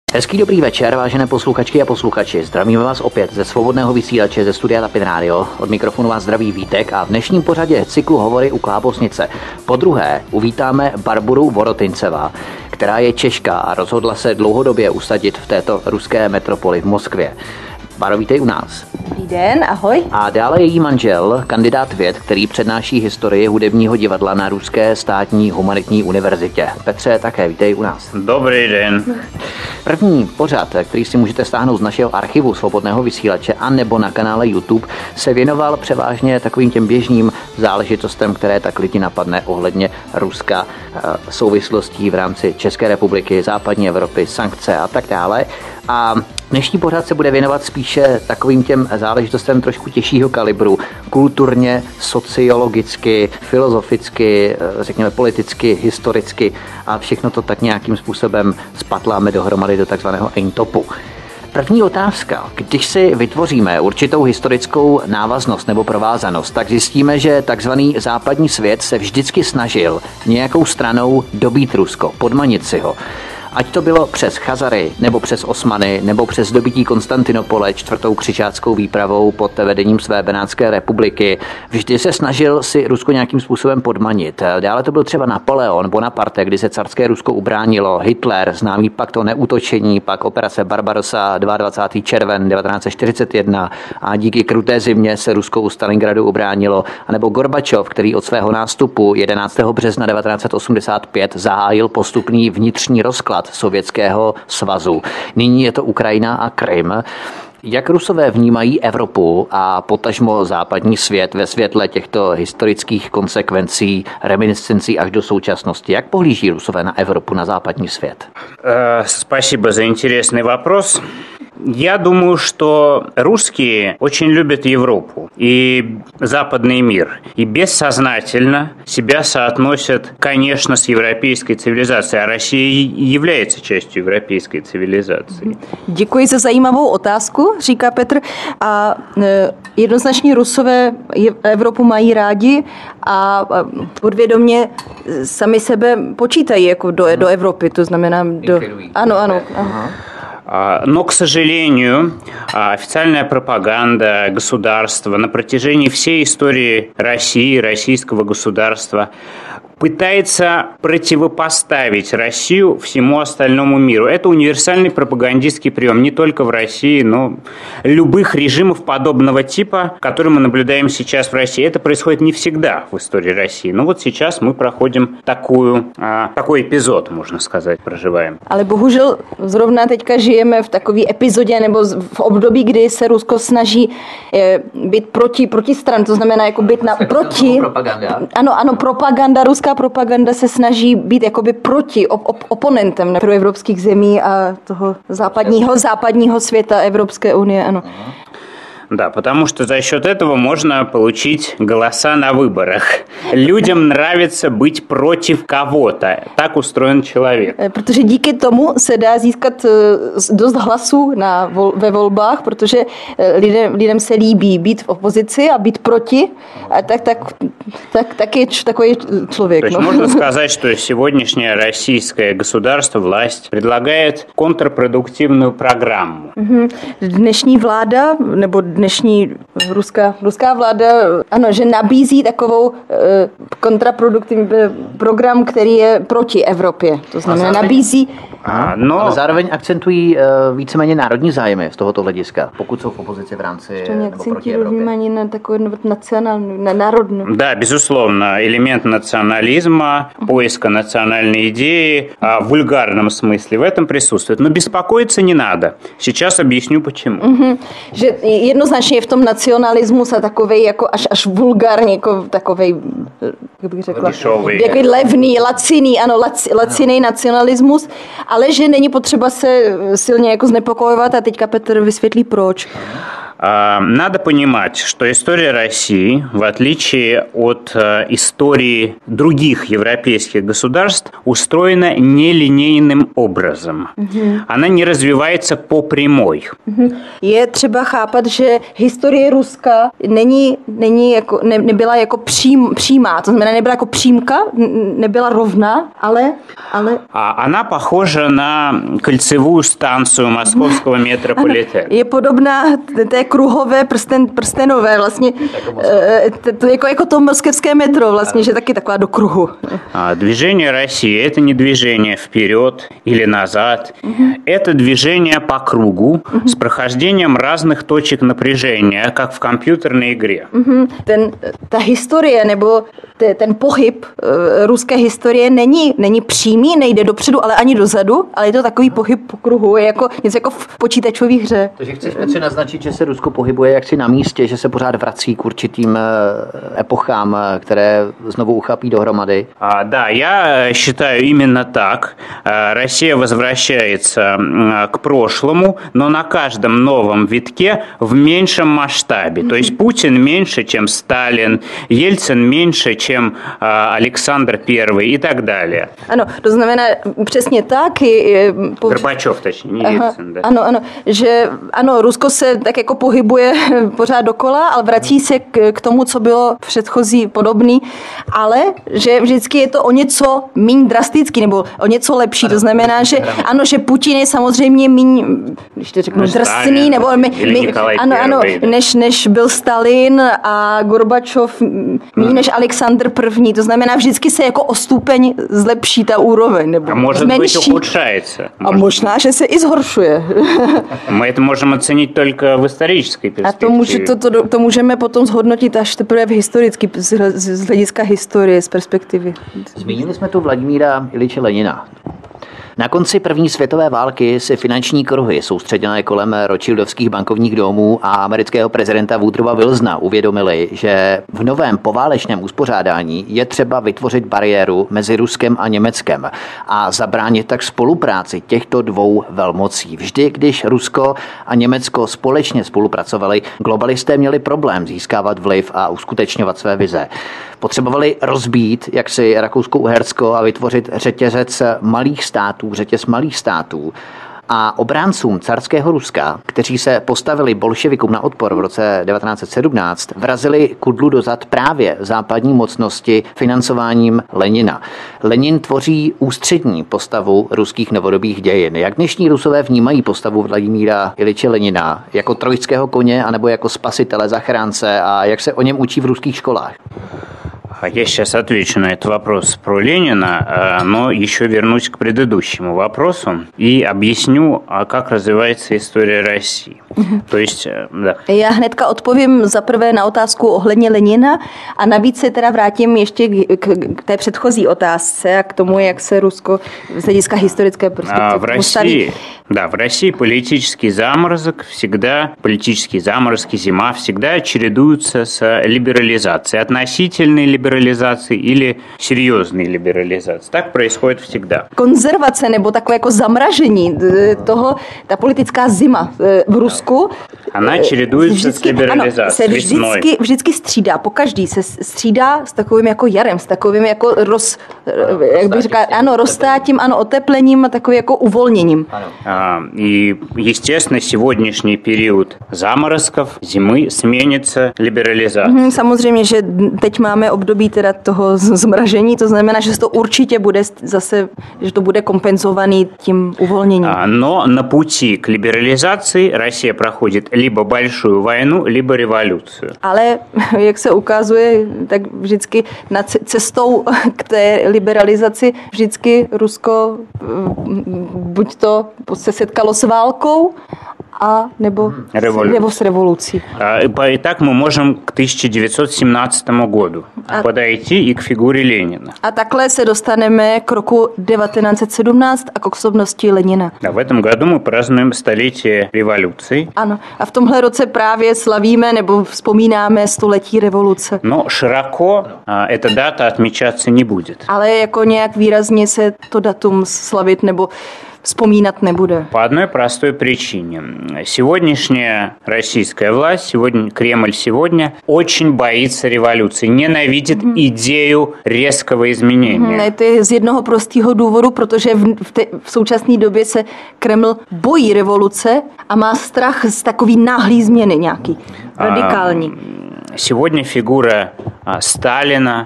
Hezký dobrý večer, vážené posluchačky a posluchači. Zdravíme vás opět ze svobodného vysílače ze studia Tapin Radio. Od mikrofonu vás zdraví Vítek a v dnešním pořadě cyklu Hovory u Klábosnice podruhé uvítáme Barboru Vorotincová, která je Češka a rozhodla se dlouhodobě usadit v této ruské metropoli v Moskvě. Baro, vítej u nás. Dobrý den, ahoj. A dále její manžel, kandidát věd, který přednáší historii hudebního divadla na Ruské státní humanitní univerzitě. Petře, také vítej u nás. Dobrý den. První pořad, který si můžete stáhnout z našeho archivu svobodného vysílače a nebo na kanále YouTube, se věnoval převážně takovým těm běžným záležitostem, které tak lidi napadne ohledně Ruska, souvislostí v rámci České republiky, západní Evropy, sankce a tak dále. A dnešní pořad se bude věnovat spíše takovým těm záležitostem trošku těžšího kalibru, kulturně, sociologicky, filozoficky, řekněme politicky, historicky a všechno to tak nějakým způsobem spatláme dohromady do takzvaného eintopu. První otázka. Když si vytvoříme určitou historickou návaznost nebo provázanost, tak zjistíme, že takzvaný západní svět se vždycky snažil nějakou stranou dobít Rusko, podmanit si ho. Ať to bylo přes Chazary, nebo přes Osmany, nebo přes dobytí Konstantinopole 4. křižáckou výpravou pod vedením své Benátské republiky. Vždy se snažil si Rusko nějakým způsobem podmanit. Dále to byl třeba Napoleon Bonaparte, kdy se carské Rusko ubránilo, Hitler, známý pakt o neútočení, pak operace Barbarossa 22. červen 1941 a díky kruté zimě se Rusko u Stalingradu ubránilo, anebo Gorbačov, který od svého nástupu 11. března 1985 zahájil postupný vnitřní rozklad Sovětského svazu. Nyní je to Ukrajina a Krym. Jak Rusové vnímají Evropu a potažmo západní svět ve světle těchto historických konsekvencí, reminiscencí až do současnosti? Jak pohlíží Rusové na Evropu, na západní svět? Спасибо за интересный вопрос. Я думаю, что русские очень любят Европу и западный мир. И бессознательно себя соотносят, конечно, с европейской цивилизацией. А Россия является частью европейской цивилизации. Děkuji za zajímavou otázku, říká Petr. A jednoznačně Rusové Evropu mají rádi a podvědomě sami sebe počítají jako do Evropy. To znamená Ano. Aha. Но, к сожалению, официальная пропаганда государства на протяжении всей истории России, российского государства пытается противопоставить Россию всему остальному миру. Это универсальный пропагандистский прием не только в России, но любых режимов подобного типа, которые мы наблюдаем сейчас в России. Это происходит не всегда в истории России. Но вот сейчас мы проходим такой эпизод, можно сказать, проживаем. Ale bohužel zrovna teďka žijeme v takové epizodě nebo v období, kdy se Rusko snaží být proti stran, to znamená jako být proti. Propaganda. Ano, propaganda, ruská propaganda se snaží být jakoby proti oponentem pro evropských zemí a toho západního světa Evropské unie, ano. Да, потому что за счет этого можно получить голоса на выборах. Людям нравится быть против кого-то. Так устроен человек. Protože díky tomu se dá získat dost hlasů ve volbách, protože lidem se líbí být v opozici a být proti. A tak je takový člověk. То есть можно сказать, что сегодняшнее российское государство, власть, предлагает контрпродуктивную программу. Dnešní vláda, nebo dnešní ruská vláda, ano, že nabízí takovou kontraproduktivní program, který je proti Evropě. To znamená, nabízí... Ale zároveň akcentují víceméně národní zájmy z tohoto hlediska, pokud jsou v opozici v rámci nebo proti Evropě. Vnímání na takovou nacionální, na národnou. Да, безусловно, элемент национализма, поиска национальной идеи в вульгарном смысле в этом присутствует. Но беспокоиться не надо. Сейчас объясню почему. Že jednoznačně je v tom nacionalismus a takovej jako až vulgárně, jako takovej, jak bych řekla, takový levný, laciný nacionalismus, ale že není potřeba se silně jako znepokojovat a teďka Petr vysvětlí proč. Надо понимать, что история России, в отличие от истории других европейских государств, устроена нелинейным образом. Она не развивается по прямой. Je třeba chápat, že historie Ruska nebyla jako přímá, to znamená nebyla jako přímka, nebyla rovná, ale... Она похожа на кольцевую станцию московского метрополитена. Je podobná té kruhové prstenové vlastně, jako to moskevské metro vlastně, že taky taková do kruhu. Движение России – это не движение вперед или назад. Это движение по кругу с прохождением разных точек напряжения, как в компьютерной игре. Ta historie nebo ten pohyb ruské historie není přímý, nejde dopředu, ale ani dozadu, ale je to takový pohyb po kruhu, je jako něco jako v počítačové hře. Takže chceš Petře naznačit, že se Rusko pohybuje jaksi na místě, že se pořád vrací k určitým epochám, které znovu uchapí dohromady? Да, я считаю именно так. Россия возвращается к прошлому, но на каждом новом витке в меньшем масштабе. То есть Путин меньше, чем Сталин, Ельцин меньше, чем Александр I и так далее. Ano, to znamená přesně tak. Горбачев, точнее, не Ельцин. Да. Ano, že ano, Rusko se tak jako pohybuje pořád dokola, ale vrací se k tomu, co bylo předchozí podobný, ale že vždycky je to o něco méně drastický nebo o něco lepší. To znamená, že ano, že Putin je samozřejmě méně, když to řeknu, drsný, nebo ano, než byl Stalin a Gorbačov méně než Alexandr I. To znamená, vždycky se jako o stupeň zlepší ta úroveň. Nebo a может zmenší. Быть ухудшается. A možná, že se i zhoršuje. Мы это можем оценить только в исторической перспективе. A to můžeme potom zhodnotit až teprve v historicky, z hlediska historie, z perspektivy. Zmínili jsme tu Vladimíra Iliče Lenina. Na konci první světové války si finanční kruhy soustředěné kolem rothschildovských bankovních domů a amerického prezidenta Woodrowa Wilsona uvědomili, že v novém poválečném uspořádání je třeba vytvořit bariéru mezi Ruskem a Německem a zabránit tak spolupráci těchto dvou velmocí. Vždy, když Rusko a Německo společně spolupracovali, globalisté měli problém získávat vliv a uskutečňovat své vize. Potřebovali rozbít jaksi Rakousko-Uhersko a vytvořit řetězec malých států. A obráncům carského Ruska, kteří se postavili bolševikům na odpor v roce 1917, vrazili kudlu dozad právě západní mocnosti financováním Lenina. Lenin tvoří ústřední postavu ruských novodobých dějin. Jak dnešní Rusové vnímají postavu Vladimíra Iliče Lenina? Jako trojského koně anebo jako spasitele, zachránce, a jak se o něm učí v ruských školách? Я сейчас отвечу на этот вопрос про Ленина, но еще вернусь к предыдущему вопросу и объясню, как развивается история России. To jest, да. Já hnedka odpovím za prvé na otázku ohledně Lenina a navíc se teda vrátím ještě k té předchozí otázce a k tomu, jak se Rusko z hlediska historické perspektivy postaví. В России политический заморозки, зима всегда чередуются с либерализацией, относительной либерализацией или серьезной либерализацией. Так происходит всегда. Konzervace nebo takové jako zamražení toho, ta politická zima v Rusku. Она чередуется с либерализацией. Se vždycky střídá, pokaždý se střídá s takovým jako jarem, s takovým jako roztátím, oteplením a takovým jako uvolněním. И, естественно, сегодняшний период заморозков, зимы сменится либерализацией. Samozřejmě, že teď máme období teda toho zmražení, to znamená, že to určitě bude zase, že to bude kompenzovaný tím uvolněním. Но на пути к либерализации Россия проходит либо большую войну, либо революцию. Ale, jak se ukazuje, tak vždycky na cestou k té liberalizaci vždycky Rusko buď to se setkalo s válkou, nebo с революцией. Итак, мы можем к 1917 году подойти и к фигуре Ленина. A takhle se dostaneme k roku 1917 a k osobnosti Lenina. В этом году мы празднуем столетие революции. Ano, a v tomhle roce právě slavíme nebo vzpomínáme století revoluce. Но широко эта дата отмечаться не будет. Ale jako nějak výrazně se to datum slavit nebo vzpomínat nebude? По одной простой причине. Сегодняшняя российская власть, Кремль сегодня очень боится революции, ненавидит идею резкого изменения. To je z jednoho prostého důvodu, protože v současné době se Kreml bojí revoluce a má strach z takový náhlý změny nějaký, radikální. Сегодня фигура Сталина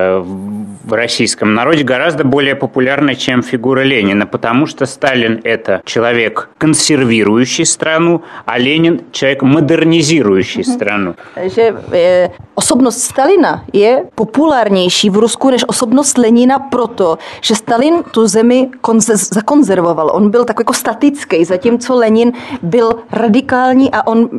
в российском народе гораздо более популярна, чем фигура Ленина, потому что Сталин – это человек, консервирующий страну, а Ленин – человек, модернизирующий страну. Že osobnost Stalina je populárnější v Rusku než osobnost Lenina proto, že Stalin tu zemi zakonzervoval. On byl takový jako statický, zatímco Lenin byl radikální a on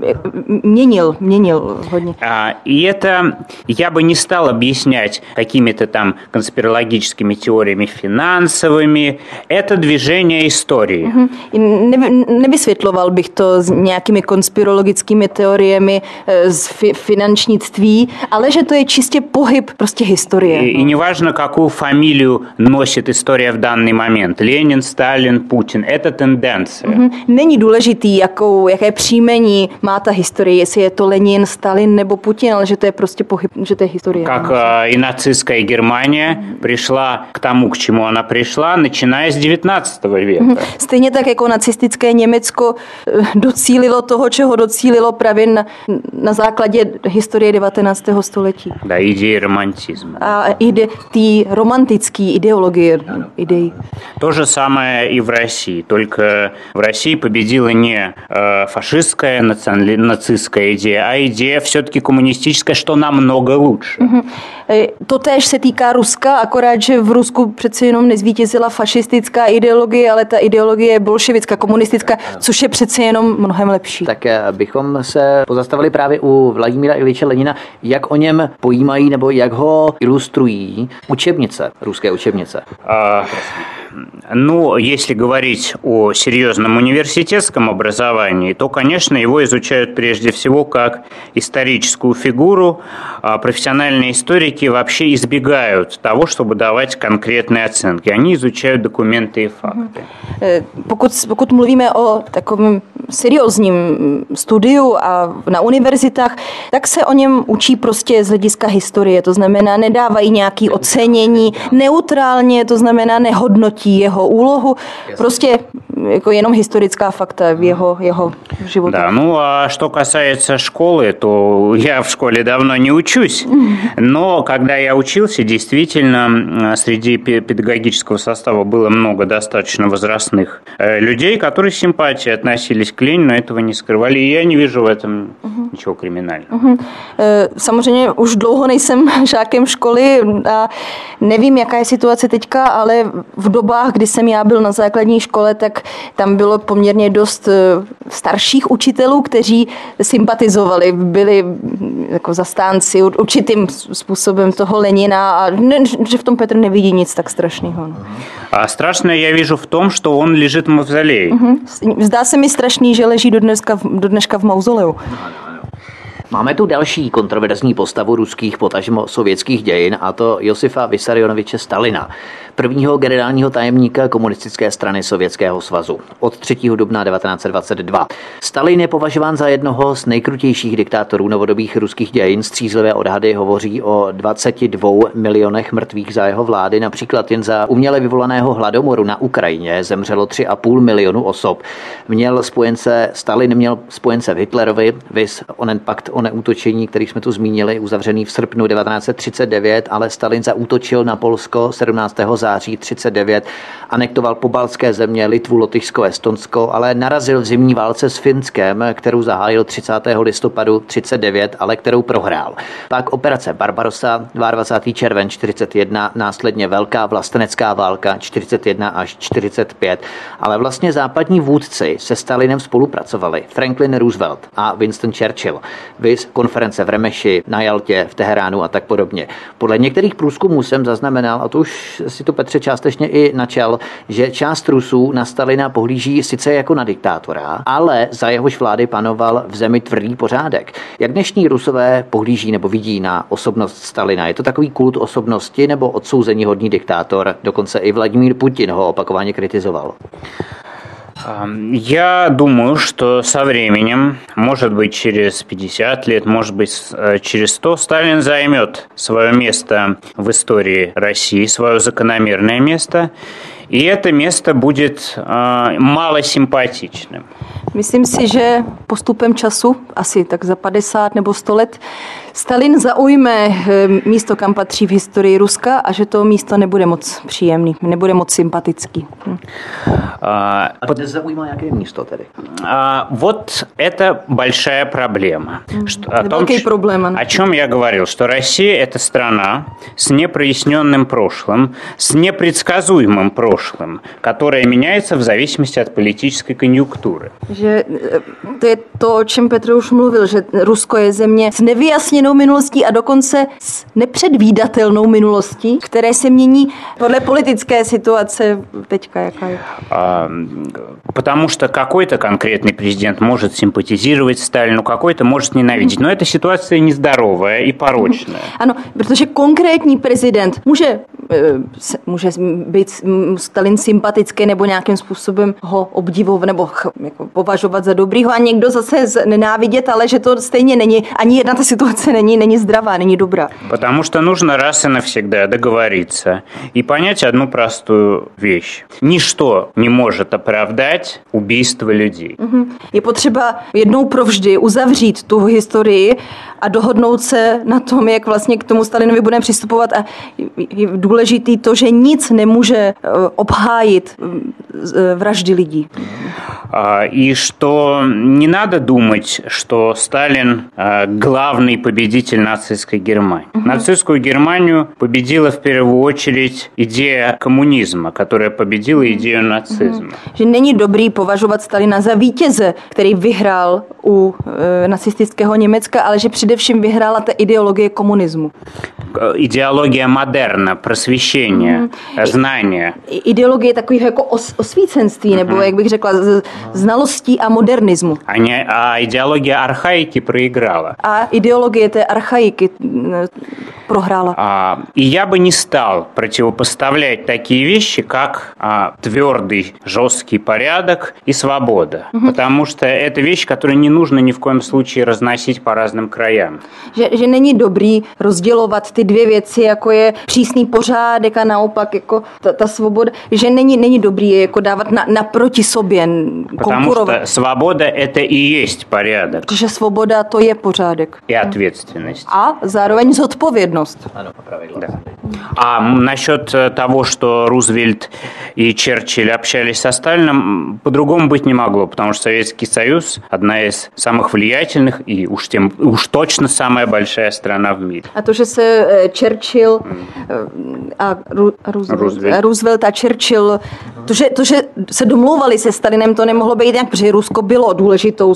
měnil hodně. И это я бы не стал объяснять какими-то там конспирологическими теориями финансовыми. Это движение истории. Nevysvětloval bych to s nějakými konspirologickými teoriemi z finančnictví, ale že to je čistě pohyb prostě historie. И неважно, какую фамилию носит история в данный момент. Ленин, Сталин, Путин. Это тенденция. Není důležitý, jaké příjmení má ta historie, jestli je to Lenin, Stalin nebo Putin, ale že to je prostě pohyb, že to je historie. Как и нацистская Германия пришла к тому, к чему она пришла, начиная с 19 века. Stejně tak jako nacistické Německo docílilo toho, čeho docílilo právě na základě historie 19. století. Да, идеи романтизма. A ty romantické ideologie, idei. То же самое и в России, только в России победила не фашистская, нацистская идея, а идея все-таки коммунистическая, что намного лучше. Totéž se týká Ruska, akorát, že v Rusku přeci jenom nezvítězila fašistická ideologie, ale ta ideologie je bolševická, komunistická, což je přeci jenom mnohem lepší. Tak bychom se pozastavili právě u Vladimíra Iliče Lenina, jak o něm pojímají nebo jak ho ilustrují učebnice, ruské učebnice. Ну, если говорить о серьезном университетском образовании, то, конечно, его изучают прежде всего как историческую фигуру. Профессиональные историки вообще избегают того, чтобы давать конкретные оценки. Они изучают документы и факты. Pokud mluvíme o takovém seriózním studiu a na univerzitách, tak se o něm učí prostě z hlediska historie. To znamená, nedávají nějaké ocenění neutrálně, to znamená, nehodnotí jeho úlohu. Prostě jako jenom historická fakta v jeho životě. Да, ну а что касается школы, то я в школе давно не учусь. Но когда я учился, действительно, среди педагогического состава было много достаточно возрастных людей, которые с симпатией относились к Ленину, этого не скрывали. И я не вижу в этом ничего криминального. Samozřejmě už dlouho nejsem žákem školy a nevím, jaká je situace teďka, ale v dobách, kdy jsem já byl na základní škole, tak tam bylo poměrně dost starších učitelů, kteří sympatizovali, byli jako zastánci určitým způsobem toho Lenina a že v tom Petr nevidí nic tak strašného. A strašné já вижу v tom, že on leží v mauzoleji. Zdá se mi strašný, že leží do dneška v mauzoleu. Máme tu další kontroverzní postavu ruských, potažmo sovětských dějin, a to Josifa Vissarionoviče Stalina, prvního generálního tajemníka komunistické strany Sovětského svazu od 3. dubna 1922. Stalin je považován za jednoho z nejkrutějších diktátorů novodobých ruských dějin. Střízlivé odhady hovoří o 22 milionech mrtvých za jeho vlády. Například jen za uměle vyvolaného hladomoru na Ukrajině zemřelo 3,5 milionu osob. Stalin měl spojence v Hitlerovi, viz onen pakt o neútočení, který jsme tu zmínili, uzavřený v srpnu 1939, ale Stalin zaútočil na Polsko 17. září 1939, anektoval pobaltské země, Litvu, Lotyšsko, Estonsko, ale narazil v zimní válce s Finskem, kterou zahájil 30. listopadu 1939, ale kterou prohrál. Pak operace Barbarossa, 22. červen 1941, následně velká vlastenecká válka 1941 až 1945, ale vlastně západní vůdci se Stalinem spolupracovali. Franklin Roosevelt a Winston Churchill, viz konference v Remeši, na Jaltě, v Teheránu a tak podobně. Podle některých průzkumů jsem zaznamenal, a to už si to Petře částečně i načal, že část Rusů na Stalina pohlíží sice jako na diktátora, ale za jehož vlády panoval v zemi tvrdý pořádek. Jak dnešní Rusové pohlíží nebo vidí na osobnost Stalina? Je to takový kult osobnosti nebo odsouzení hodný diktátor? Dokonce i Vladimír Putin ho opakovaně kritizoval. Я думаю, что со временем, может быть, через 50 лет, может быть, через 100, Сталин займет свое место в истории России, свое закономерное место, и это место будет малосимпатичным. Myslím si, že postupem času, asi tak za 50 nebo 100 let, Stalin zaujme místo, kam patří v historii Ruska a že to místo nebude moc příjemný, nebude moc sympatický. A dnes zaujímá jaké místo tedy? Вот это большая проблема. Проблема. О чем я говорил, что Россия – это страна с непроясненным прошлым, с непредсказуемым прошлым, которое меняется в зависимости от политической конъюнктуры. Že to je to, o čem Petr už mluvil, že Rusko je země s nevyjasněnou minulostí a dokonce s nepředvídatelnou minulostí, které se mění podle politické situace teďka, jaká je. Потому что какой-то конкретный президент может симпатизировать Сталину, какой-то может ненавидеть. Но эта ситуация нездоровая и порочная. Ano, protože konkrétní prezident může být Stalin sympatický nebo nějakým způsobem ho obdivovat nebo jako považovat za dobrýho a někdo zase nenávidět, ale že to stejně není, ani jedna ta situace není zdravá, není dobrá. Потому что нужно раз и навсегда договориться и понять одну простую вещь. Ничто не может оправдать убийство людей. Je potřeba jednou provždy uzavřít tu historii a dohodnout se na tom, jak vlastně k tomu Stalinovi budeme přistupovat a je důležitý to, že nic nemůže obhájit vraždy lidí. И что не надо думать, что Сталин главный победитель нацистской Германии. Нацистскую Германию победила в первую очередь идея коммунизма, которая победила идею нацизма. Že není dobrý považovat Stalina za vítěze, který vyhrál u nacistického Německa, ale že především vyhrála ta ideologie komunismu. Идеология модерна, просвещения, знания. Ideologie takového jako osvícenství, nebo jak bych řekla, znalostí a modernismu. А идеология архаики проиграла. A ideologie té archaiky prohrála. И я бы не стал противопоставлять такие вещи, как твердый, жесткий порядок и свобода. Потому что это вещь, которую не нужно ни в коем случае разносить по разным краям. Že není dobrý rozdělovat ty dvě věci, jako je přísný pořádek a naopak jako ta svoboda, že není dobrý je jako dávat naproti sobě, konkurovat. Потому что свобода – это и есть порядок. Protože svoboda to je pořádek. И ответственность. A zároveň zodpovědnost. Ano, pravidla. Да. А насчет того, что Рузвельт и Черчилль общались со Сталином, по-другому быть не могло, потому что Советский Союз – одна из самых влиятельных и уж точно самая большая страна в мире. A to, že se Churchill a Roosevelt a Churchill, to, že se domlouvali se Stalinem, to nemohlo být nějak, protože Rusko bylo důležitou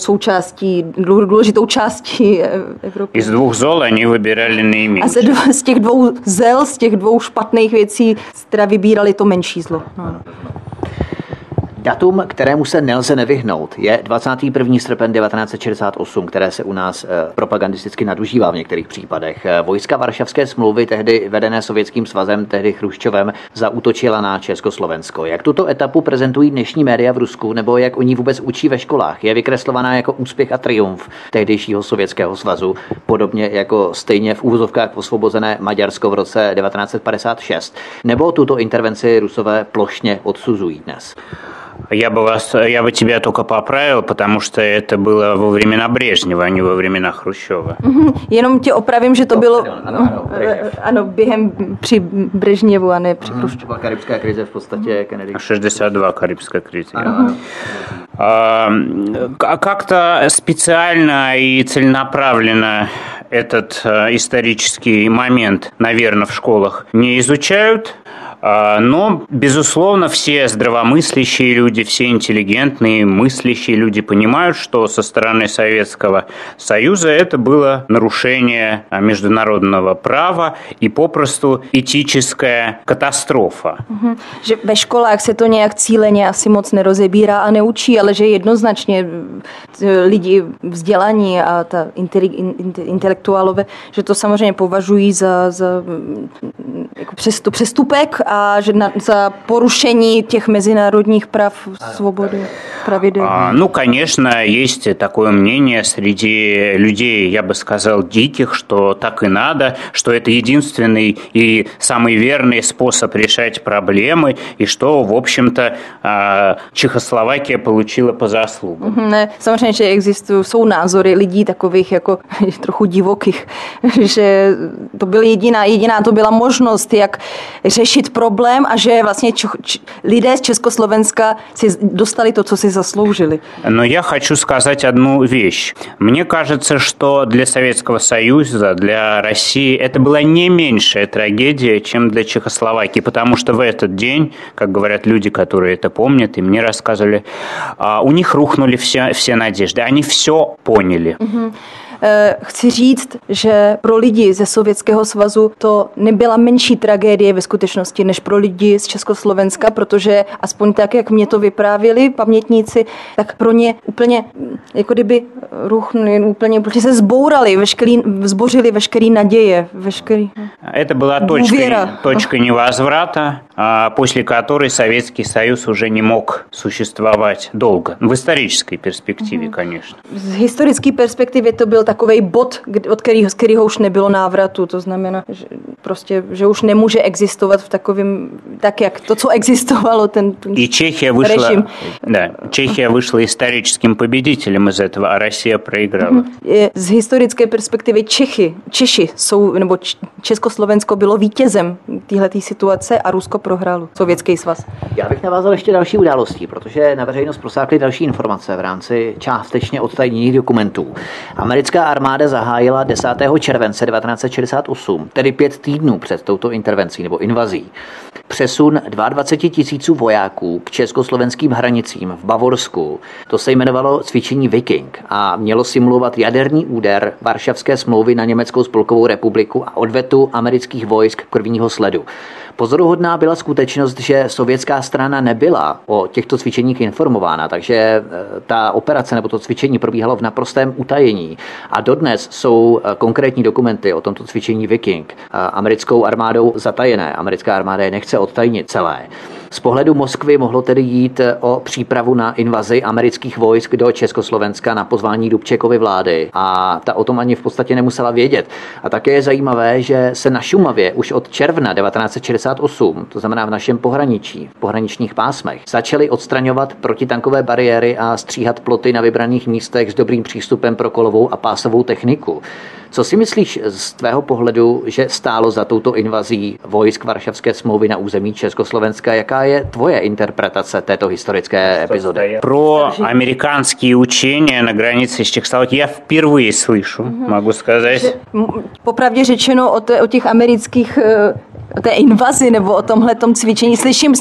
částí Evropy. Из двух зол они выбирали наименьшее. A z těch dvou zel, z těch dvou špatných věcí, teda vybírali to menší zlo. No. Datum, kterému se nelze nevyhnout, je 21. srpen 1968, které se u nás propagandisticky nadužívá v některých případech. Vojska Varšavské smlouvy, tehdy vedené Sovětským svazem, tehdy Chruščovem, zaútočila na Československo. Jak tuto etapu prezentují dnešní média v Rusku, nebo jak o ní vůbec učí ve školách? Je vykreslovaná jako úspěch a triumf tehdejšího Sovětského svazu, podobně jako stejně v úvozovkách osvobozené Maďarsko v roce 1956? Nebo tuto intervenci Rusové plošně odsuzují dnes? Я бы тебя только поправил, потому что это было во времена Брежнева, а не во времена Хрущева. Jenom tě opravím, že to bylo během při Brežněvu a ne při Chruščovu. Karibská krize v podstatě Kennedy. 62 карибская кризис. Как-то специально и целенаправленно этот исторический момент, наверное, в школах не изучают. Но, безусловно, все здравомыслящие люди, все интеллигентные, мыслящие люди понимают, что со стороны Советского Союза это было нарушение международного права и попросту этическая катастрофа. Že ve školách se to nějak cíleně asi moc nerozebírá a neučí, ale že jednoznačně lidi vzdělaní a ta intelektuálové, že to samozřejmě považují za jako přestupek a že za porušení těch mezinárodních práv, svobody, pravidel. Ну, конечно, есть такое мнение среди людей, я бы сказал, диких, что так и надо, что это единственный и самый верный способ решать проблемы, и что, в общем-то, Čechoslovakia получила по заслугам. Ne, samozřejmě, že jsou názory lidí takových jako trochu divokých, že to byla jediná to byla možnost, jak řešit problém a že vlastně lidé z Československa si dostali to, co si zasloužili. Но я хочу сказать одну вещь. Мне кажется, что для Советского Союза, для России это была не меньшая трагедия, чем для Чехословакии, потому что в этот день, как говорят люди, которые это помнят, и мне рассказывали, у них рухнули все надежды. Они все поняли. Chci říct, že pro lidi ze Sovětského svazu to nebyla menší tragédie ve skutečnosti než pro lidi z Československa, protože aspoň tak, jak mě to vyprávěli pamětníci, tak pro ně úplně jako kdyby ruchnuli, úplně se zbourali, zbořili veškerý naděje, veškerý Это была точка невозврата, после которой Советский Союз уже не мог существовать долго. В исторической перспективе, конечно. Z historické perspektivy to byl takovej bod, z kterého už nebylo návratu. To znamená, že prostě, že už nemůže existovat v takovém, tak jak to, co existovalo, ten И Чехия вышла историческим победителем из этого, а Россия проиграла. Z historické perspektivy Češi jsou, nebo Československo bylo vítězem téhletý situace a Rusko prohrálo, Sovětský svaz. Já bych navázal ještě další událostí, protože na veřejnost prosákly další informace v rámci částečně odtajněných dokumentů. Americká armáda zahájila 10. července 1968, tedy 5 týdnů před touto intervencí nebo invazí, přesun 22 000 vojáků k československým hranicím v Bavorsku. To se jmenovalo cvičení Viking a mělo simulovat jaderný úder Varšavské smlouvy na Německou spolkovou republiku a odvetu amerických vojsk k prvního sledu. Pozoruhodná byla skutečnost, že sovětská strana nebyla o těchto cvičeních informována, takže ta operace nebo to cvičení probíhalo v naprostém utajení. A dodnes jsou konkrétní dokumenty o tomto cvičení Viking americkou armádou zatajené. Americká armáda je nechce odtajnit celé. Z pohledu Moskvy mohlo tedy jít o přípravu na invazi amerických vojsk do Československa na pozvání Dubčekovy vlády a ta o tom ani v podstatě nemusela vědět. A také je zajímavé, že se na Šumavě už od června 1968, to znamená v našem pohraničí, v pohraničních pásmech, začaly odstraňovat protitankové bariéry a stříhat ploty na vybraných místech s dobrým přístupem pro kolovou a pásovou techniku. Co si myslíš z tvého pohledu, že stálo za touto invazí vojsk Varšavské smlouvy na území Československa? Jaká je tvoje interpretace této historické epizody? Про американские учения на границе с Чехословакией я впервые слышу, могу сказать. Popravdě řečeno o těch amerických o té invazi nebo o tomhletom cvičení.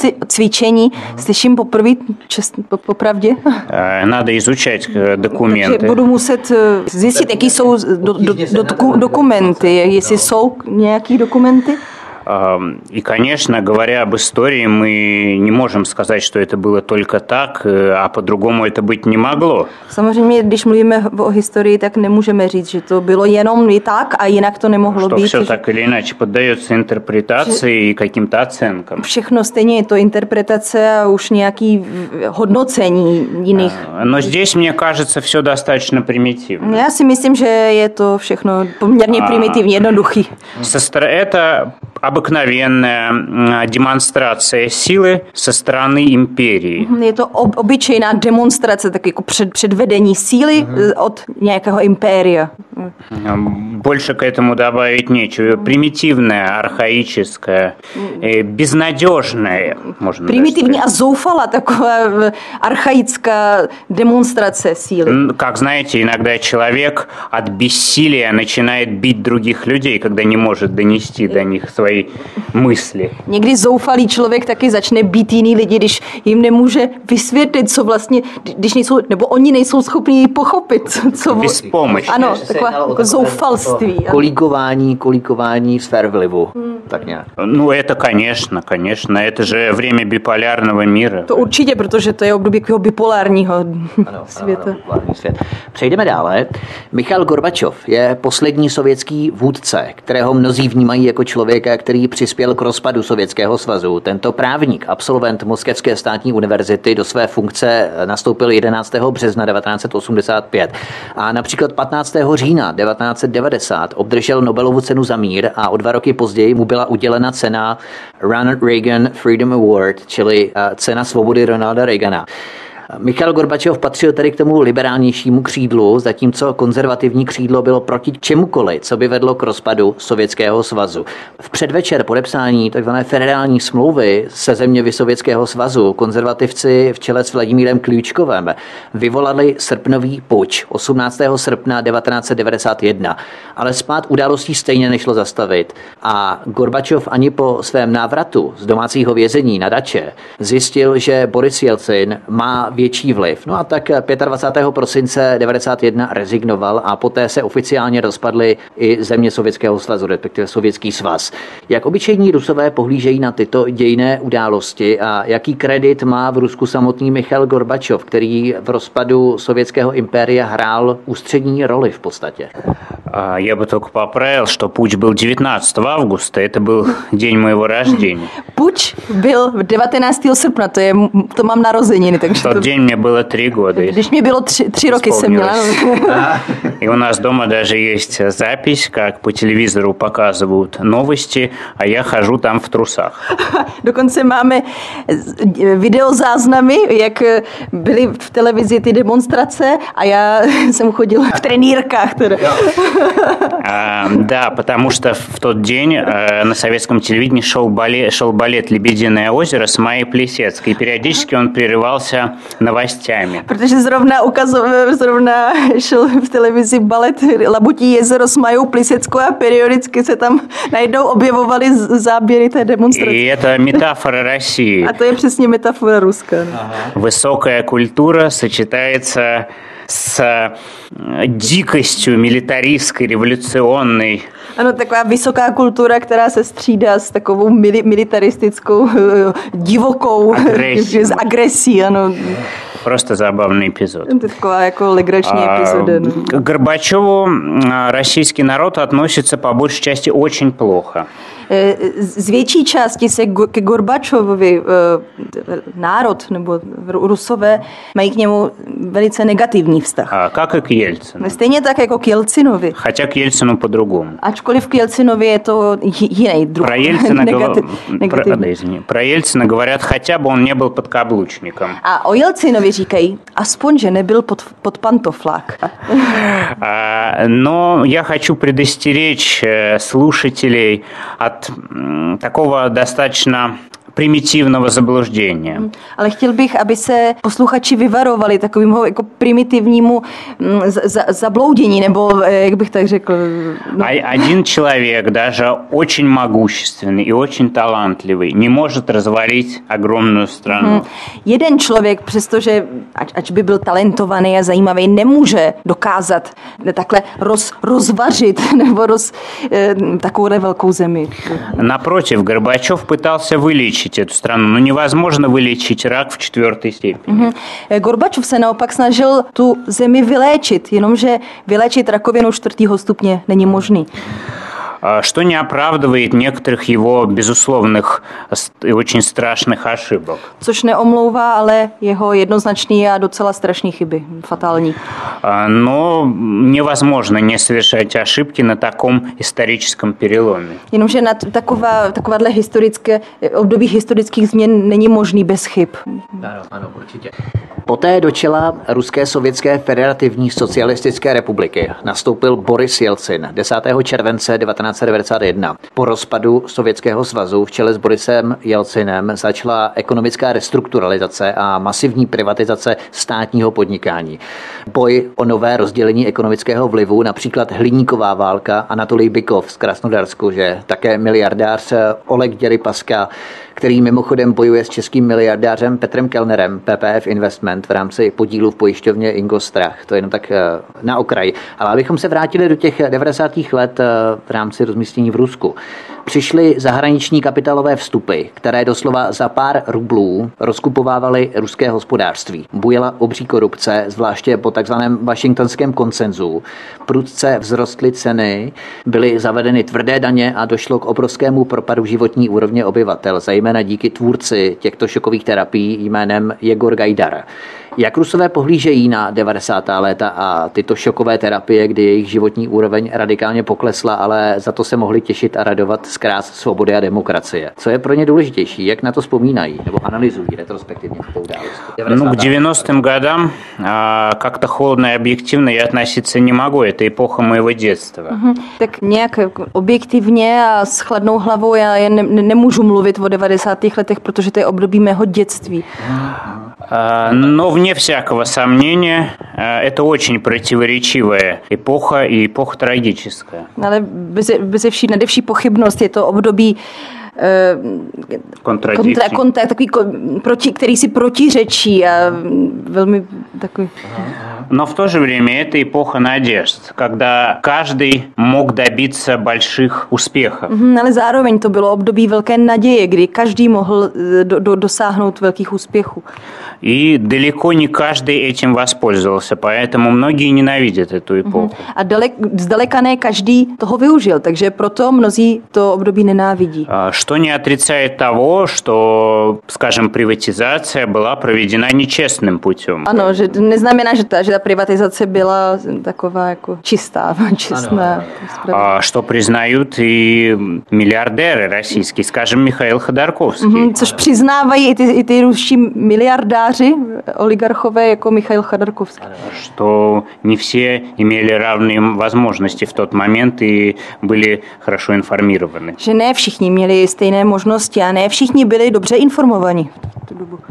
Slyším poprvé, popravdě. Надо изучать документы. Budu muset zjistit, jaký jsou dokumenty, jestli jsou nějaký dokumenty. И, конечно, говоря об истории, мы не можем сказать, что это было только так, а по-другому это быть не могло. Samozřejmě, když mluvíme o historii, tak nemůžeme říct, že to bylo jenom i tak a jinak to nemohlo být. Что все так или иначе поддается интерпретации и каким-то оценкам. Všechno stejně je to interpretace a už nějaký hodnocení jiných. Но здесь, мне кажется, все достаточно примитивно. Já si myslím, že je to všechno poměrně primitivní, jednoduchý. Это обыкновенная демонстрация силы со стороны империи. Je to obyčejná demonstrace, tak jako předvedení síly od nějakého impéria. Больше к этому добавить нечего. Примитивная, архаическая, безнадежная, можно Primitivní a zoufalá taková archaická demonstrace síly. Как знаете, иногда человек от бессилия начинает бить других людей, когда не может донести до них свои mysli. Někdy zoufalý člověk taky začne být jiný lidi, když jim nemůže vysvětlit, co vlastně, když nejsou, nebo oni nejsou schopni pochopit, co... Bezpomočnost. Ano, takové jako zoufalství. Kolíkování sfér vlivu. tak nějak. Ну, это, конечно. Это же время биполярного мира. To určitě, protože to je období takového bipolárního světa. Ano, svět. Přejdeme dále. Michail Gorbačov je poslední sovětský vůdce, kterého mnozí vnímají jako člověka, který přispěl k rozpadu Sovětského svazu. Tento právník, absolvent Moskevské státní univerzity, do své funkce nastoupil 11. března 1985 a například 15. října 1990 obdržel Nobelovu cenu za mír a o 2 roky později mu byla udělena cena Ronald Reagan Freedom Award, čili cena svobody Ronalda Reagana. Michail Gorbačov patřil tedy k tomu liberálnějšímu křídlu, zatímco konzervativní křídlo bylo proti čemukoliv, co by vedlo k rozpadu Sovětského svazu. V předvečer podepsání tzv. Federální smlouvy se zeměmi Sovětského svazu konzervativci v čele s Vladimírem Klíčkovem vyvolali srpnový puč 18. srpna 1991, ale spád událostí stejně nešlo zastavit a Gorbačov ani po svém návratu z domácího vězení na dače zjistil, že Boris Jelcin má větší vliv. No a tak 25. prosince 1991 rezignoval a poté se oficiálně rozpadly i země Sovětského svazu, respektive Sovětský svaz. Jak obyčejní Rusové pohlížejí na tyto dějinné události a jaký kredit má v Rusku samotný Michail Gorbačov, který v rozpadu sovětského impéria hrál ústřední roli v podstatě? Я бы только поправил, что путч был 19 августа, это был день моего рождения. Puč byl 19. srpna, to mám narozeniny, takže В тот день мне было 3 года. Když mě bylo 3 roky, jsem měla. И у нас дома даже есть запись, как по телевизору показывают новости, а я хожу там в трусах. Dokonce máme videozáznamy, jak byly v televizi ty demonstrace a já jsem chodila v trenýrkách. Да, потому что в тот день на советском телевидении шел балет «Лебединое озеро» с Майей Плисецкой. И периодически он прерывался новостями. Protože zrovna šel v televizi balet Labutí jezero s Majou Pliseckou a periodicky se tam najednou objevovaly záběry té demonstrace. И это метафора России. A to je přesně metafora Ruska. Высокая культура сочетается с дикостью милитаристской, революционной. Ano, taková vysoká kultura, která se střídá s takovou militaristickou, divokou agresí, ano. Просто забавный эпизод. To je taková jako legrační epizoda. No. К Горбачеву российский народ относится по большей части очень плохо. Z větší části se ke Gorbačovovi národ nebo Rusové mají k němu velice negativní vztah. Как и к Ельцину. Stejně tak jako k Jelcinovi. Хотя к Ельцину по-другому. Ačkoliv k Jelcinovi je to jiný druh. Про Ельцина говорят, хотя бы он не был подкаблучником. A o Jelcinovi říkají, aspoň, že nebyl pod pantoflák. Но я хочу предостеречь слушателей от такого достаточно примитивного заблуждения. Ale chtěl bych, aby se posluchači vyvarovali takovému jako primitivnímu zabloudění, nebo jak bych tak řekl. No. Один человек, даже очень могущественный и очень талантливый, не может развалить огромную страну. Jeden člověk, přestože ač by byl talentovaný a zajímavý, nemůže dokázat takhle rozvařit nebo takovou velkou zemi. Напротив, Горбачев пытался вылечить эту страну, но невозможно вылечить рак в 4. степени. Gorbačov se naopak snažil tu zemi vyléčit, jenomže vyléčit rakovinu 4. stupně není možný. Что не оправдывает некоторых его безусловных и очень страшных ошибок. Což neomlouvá, ale jeho jednoznačný a docela strašný chyby, fatální. Но невозможно не совершать ошибки на таком историческом переломе. Jenomže na takováhle období historických změn není možný bez chyb. Ano, určitě. Poté do čela Ruské sovětské federativní socialistické republiky nastoupil Boris Jelcin 10. července 1991. Po rozpadu Sovětského svazu v čele s Borisem Jelcinem začala ekonomická restrukturalizace a masivní privatizace státního podnikání. Boj o nové rozdělení ekonomického vlivu, například hliníková válka, Anatolij Bykov z Krasnodarsku, že také miliardář Oleg Děripaska, který mimochodem bojuje s českým miliardářem Petrem Kellnerem, PPF Investment, v rámci podílu v pojišťovně Ingostrach. To je jenom tak na okraj. Ale abychom se vrátili do těch 90. let v rámci rozmístění v Rusku. Přišly zahraniční kapitálové vstupy, které doslova za pár rublů rozkupovávaly ruské hospodářství. Bujela obří korupce, zvláště po takzvaném washingtonském konsenzu. Prudce vzrostly ceny, byly zavedeny tvrdé daně a došlo k obrovskému propadu životní úrovně obyvatel, zejména díky tvůrci těchto šokových terapií jménem Jegor Gajdar. Jak Rusové pohlížejí na 90. léta a tyto šokové terapie, kdy jejich životní úroveň radikálně poklesla, ale za to se mohli těšit a radovat z krás svobody a demokracie? Co je pro ně důležitější? Jak na to vzpomínají nebo analyzují retrospektivně tu událost? К 90-м годам как-то холодно и объективно я относиться не могу. Это эпоха моего детства. Tak nějak objektivně a s chladnou hlavou já nemůžu mluvit o 90. letech, protože to je období mého dětství. Но вне всякого сомнения, это очень противоречивая эпоха и эпоха трагическая. Ale beze vší pochybnost je to období který si protiřečí a velmi takový. Но в то же время это эпоха надежд, когда каждый мог добиться больших успехов. Ale zároveň to bylo období velké naděje, kdy každý mohl dosáhnout velkých úspěchů. И далеко не каждый этим воспользовался, поэтому многие ненавидят эту эпоху. A zdaleka ne každý toho využil, takže proto mnozí to období nenávidí. Что не отрицает того, что, скажем, приватизация была проведена нечестным путем. Ano, že neznamená, že ta privatizace byla taková jako čistá. Что признают и миллиардеры российские, скажем, Михаил Ходорковский. Což přiznávají i ty ruští miliardáři, oligarchové jako Michail Chodorkovský. Что не все имели равные возможности в тот момент и были хорошо информированы. Že ne všichni měli stejné možnosti a ne všichni byli dobře informovaní v tu dobu.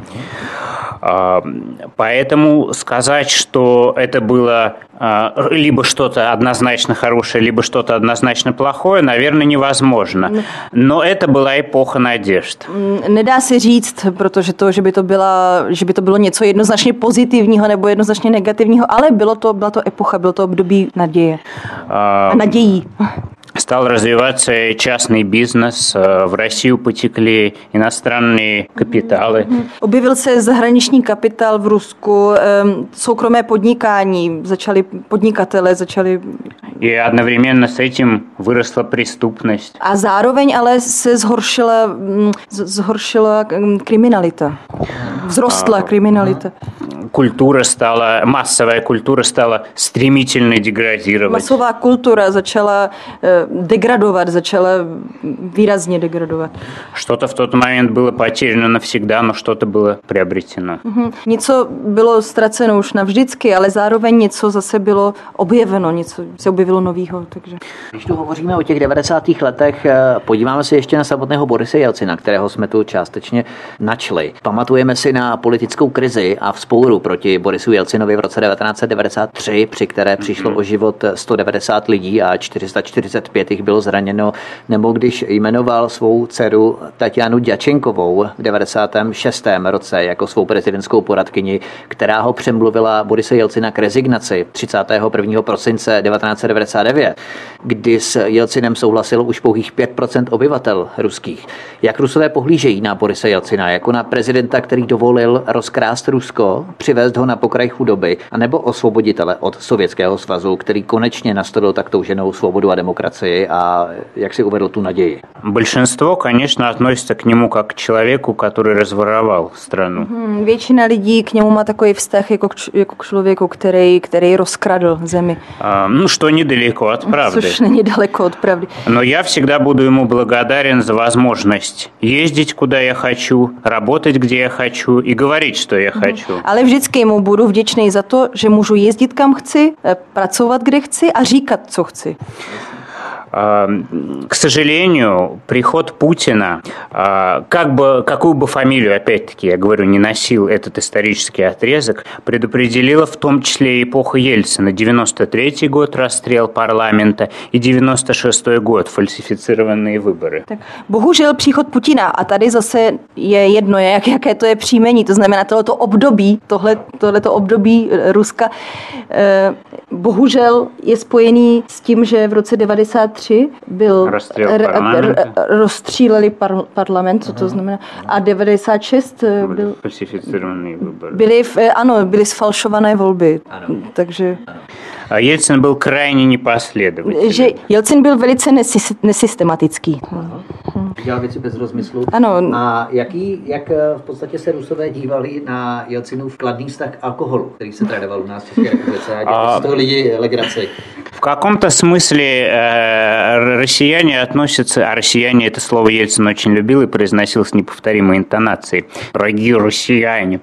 Поэтому сказать, что это было либо что-то однозначно хорошее, либо что-то однозначно плохое, наверное, невозможно. Но это была эпоха надежд. Nedá se říct, protože to, že by to bylo něco jednoznačně pozitivního nebo jednoznačně negativního, ale byla to epocha, bylo to období naděje. Nadějí. Стал развиваться частный бизнес, в Россию потекли иностранные капиталы. Objevil se zahraniční kapitál v Rusku, soukromé podnikání, podnikatele začali. И одновременно с этим выросла преступность. A zároveň ale se zhoršila kriminalita. Vzrostla kriminalita. Массовая культура стала стремительно деградировать. Masová kultura začala degradovat, začala výrazně degradovat. Что-то в тот момент было потеряно навсегда, но что-то было приобретено. Něco bylo ztraceno už navždycky, ale zároveň něco zase bylo objeveno, něco se objevilo novýho. Takže. Když tu hovoříme o těch 90. letech, podíváme se ještě na samotného Borise Jelcina, kterého jsme tu částečně načli. Pamatujeme si na politickou krizi a vzpouru proti Borisu Jelcinovi v roce 1993, při které přišlo o život 190 lidí a 445 jich bylo zraněno, nebo když jmenoval svou dceru Tatianu Djačenkovou v 96. roce jako svou prezidentskou poradkyni, která ho přemluvila Borise Jelcina k rezignaci 31. prosince 1999, kdy s Jelcinem souhlasilo už pouhých 5% obyvatel ruských. Jak Rusové pohlížejí na Borise Jelcina jako na prezidenta, který dovolil rozkrást Rusko, přivést ho na pokraj chudoby, anebo osvoboditele od Sovětského svazu, který konečně nastolil tak touženou svobodu a demokracii a jak si uvedl tu naději? Большинство, конечно, относится к нему как к человеку, который разворовал страну. Většina lidí k němu má takový vztah jako k člověku, který rozkradl zemi. Что недалеко от правды. Což není daleko od pravdy. Но я всегда буду ему благодарен за возможность ездить, куда я хочу, работать, где я хочу и говорить, что я хочу. Ale vždycky mu budu vděčný za to, že můžu jezdit kam chci, pracovat kde chci a říkat, co chci. К сожалению, приход Путина, какую бы фамилию, опять-таки, я говорю, не носил этот исторический отрезок, предопределила в том числе и эпоху Ельцина. 93-й год, расстрел парламента, и 96-й год, фальсифицированные выборы. Tak, bohužel příchod Putina, a tady zase je jedno, jaké to je příjmení, to znamená tohleto období Ruska, bohužel je spojený s tím, že v roce 93 93 byl rozstříleli parlament, co to znamená, a 96 byl фальсифицированные выборы. Byly sfalšované volby. Ano. Takže Jelcin byl krajně nepпоследовательný. Že Jelcin byl velice nesystematický. Dělal věci bez rozmyslu. Ano. A jak v podstatě se Rusové dívali na Jelcinův kladný vztah k alkoholu, který se tradoval u nás v České republice a dělali z toho lidi legraci? В каком-то смысле россияне относятся, а россияне это слово Ельцин очень любил и произносил с неповторимой интонацией. Дорогие россияне.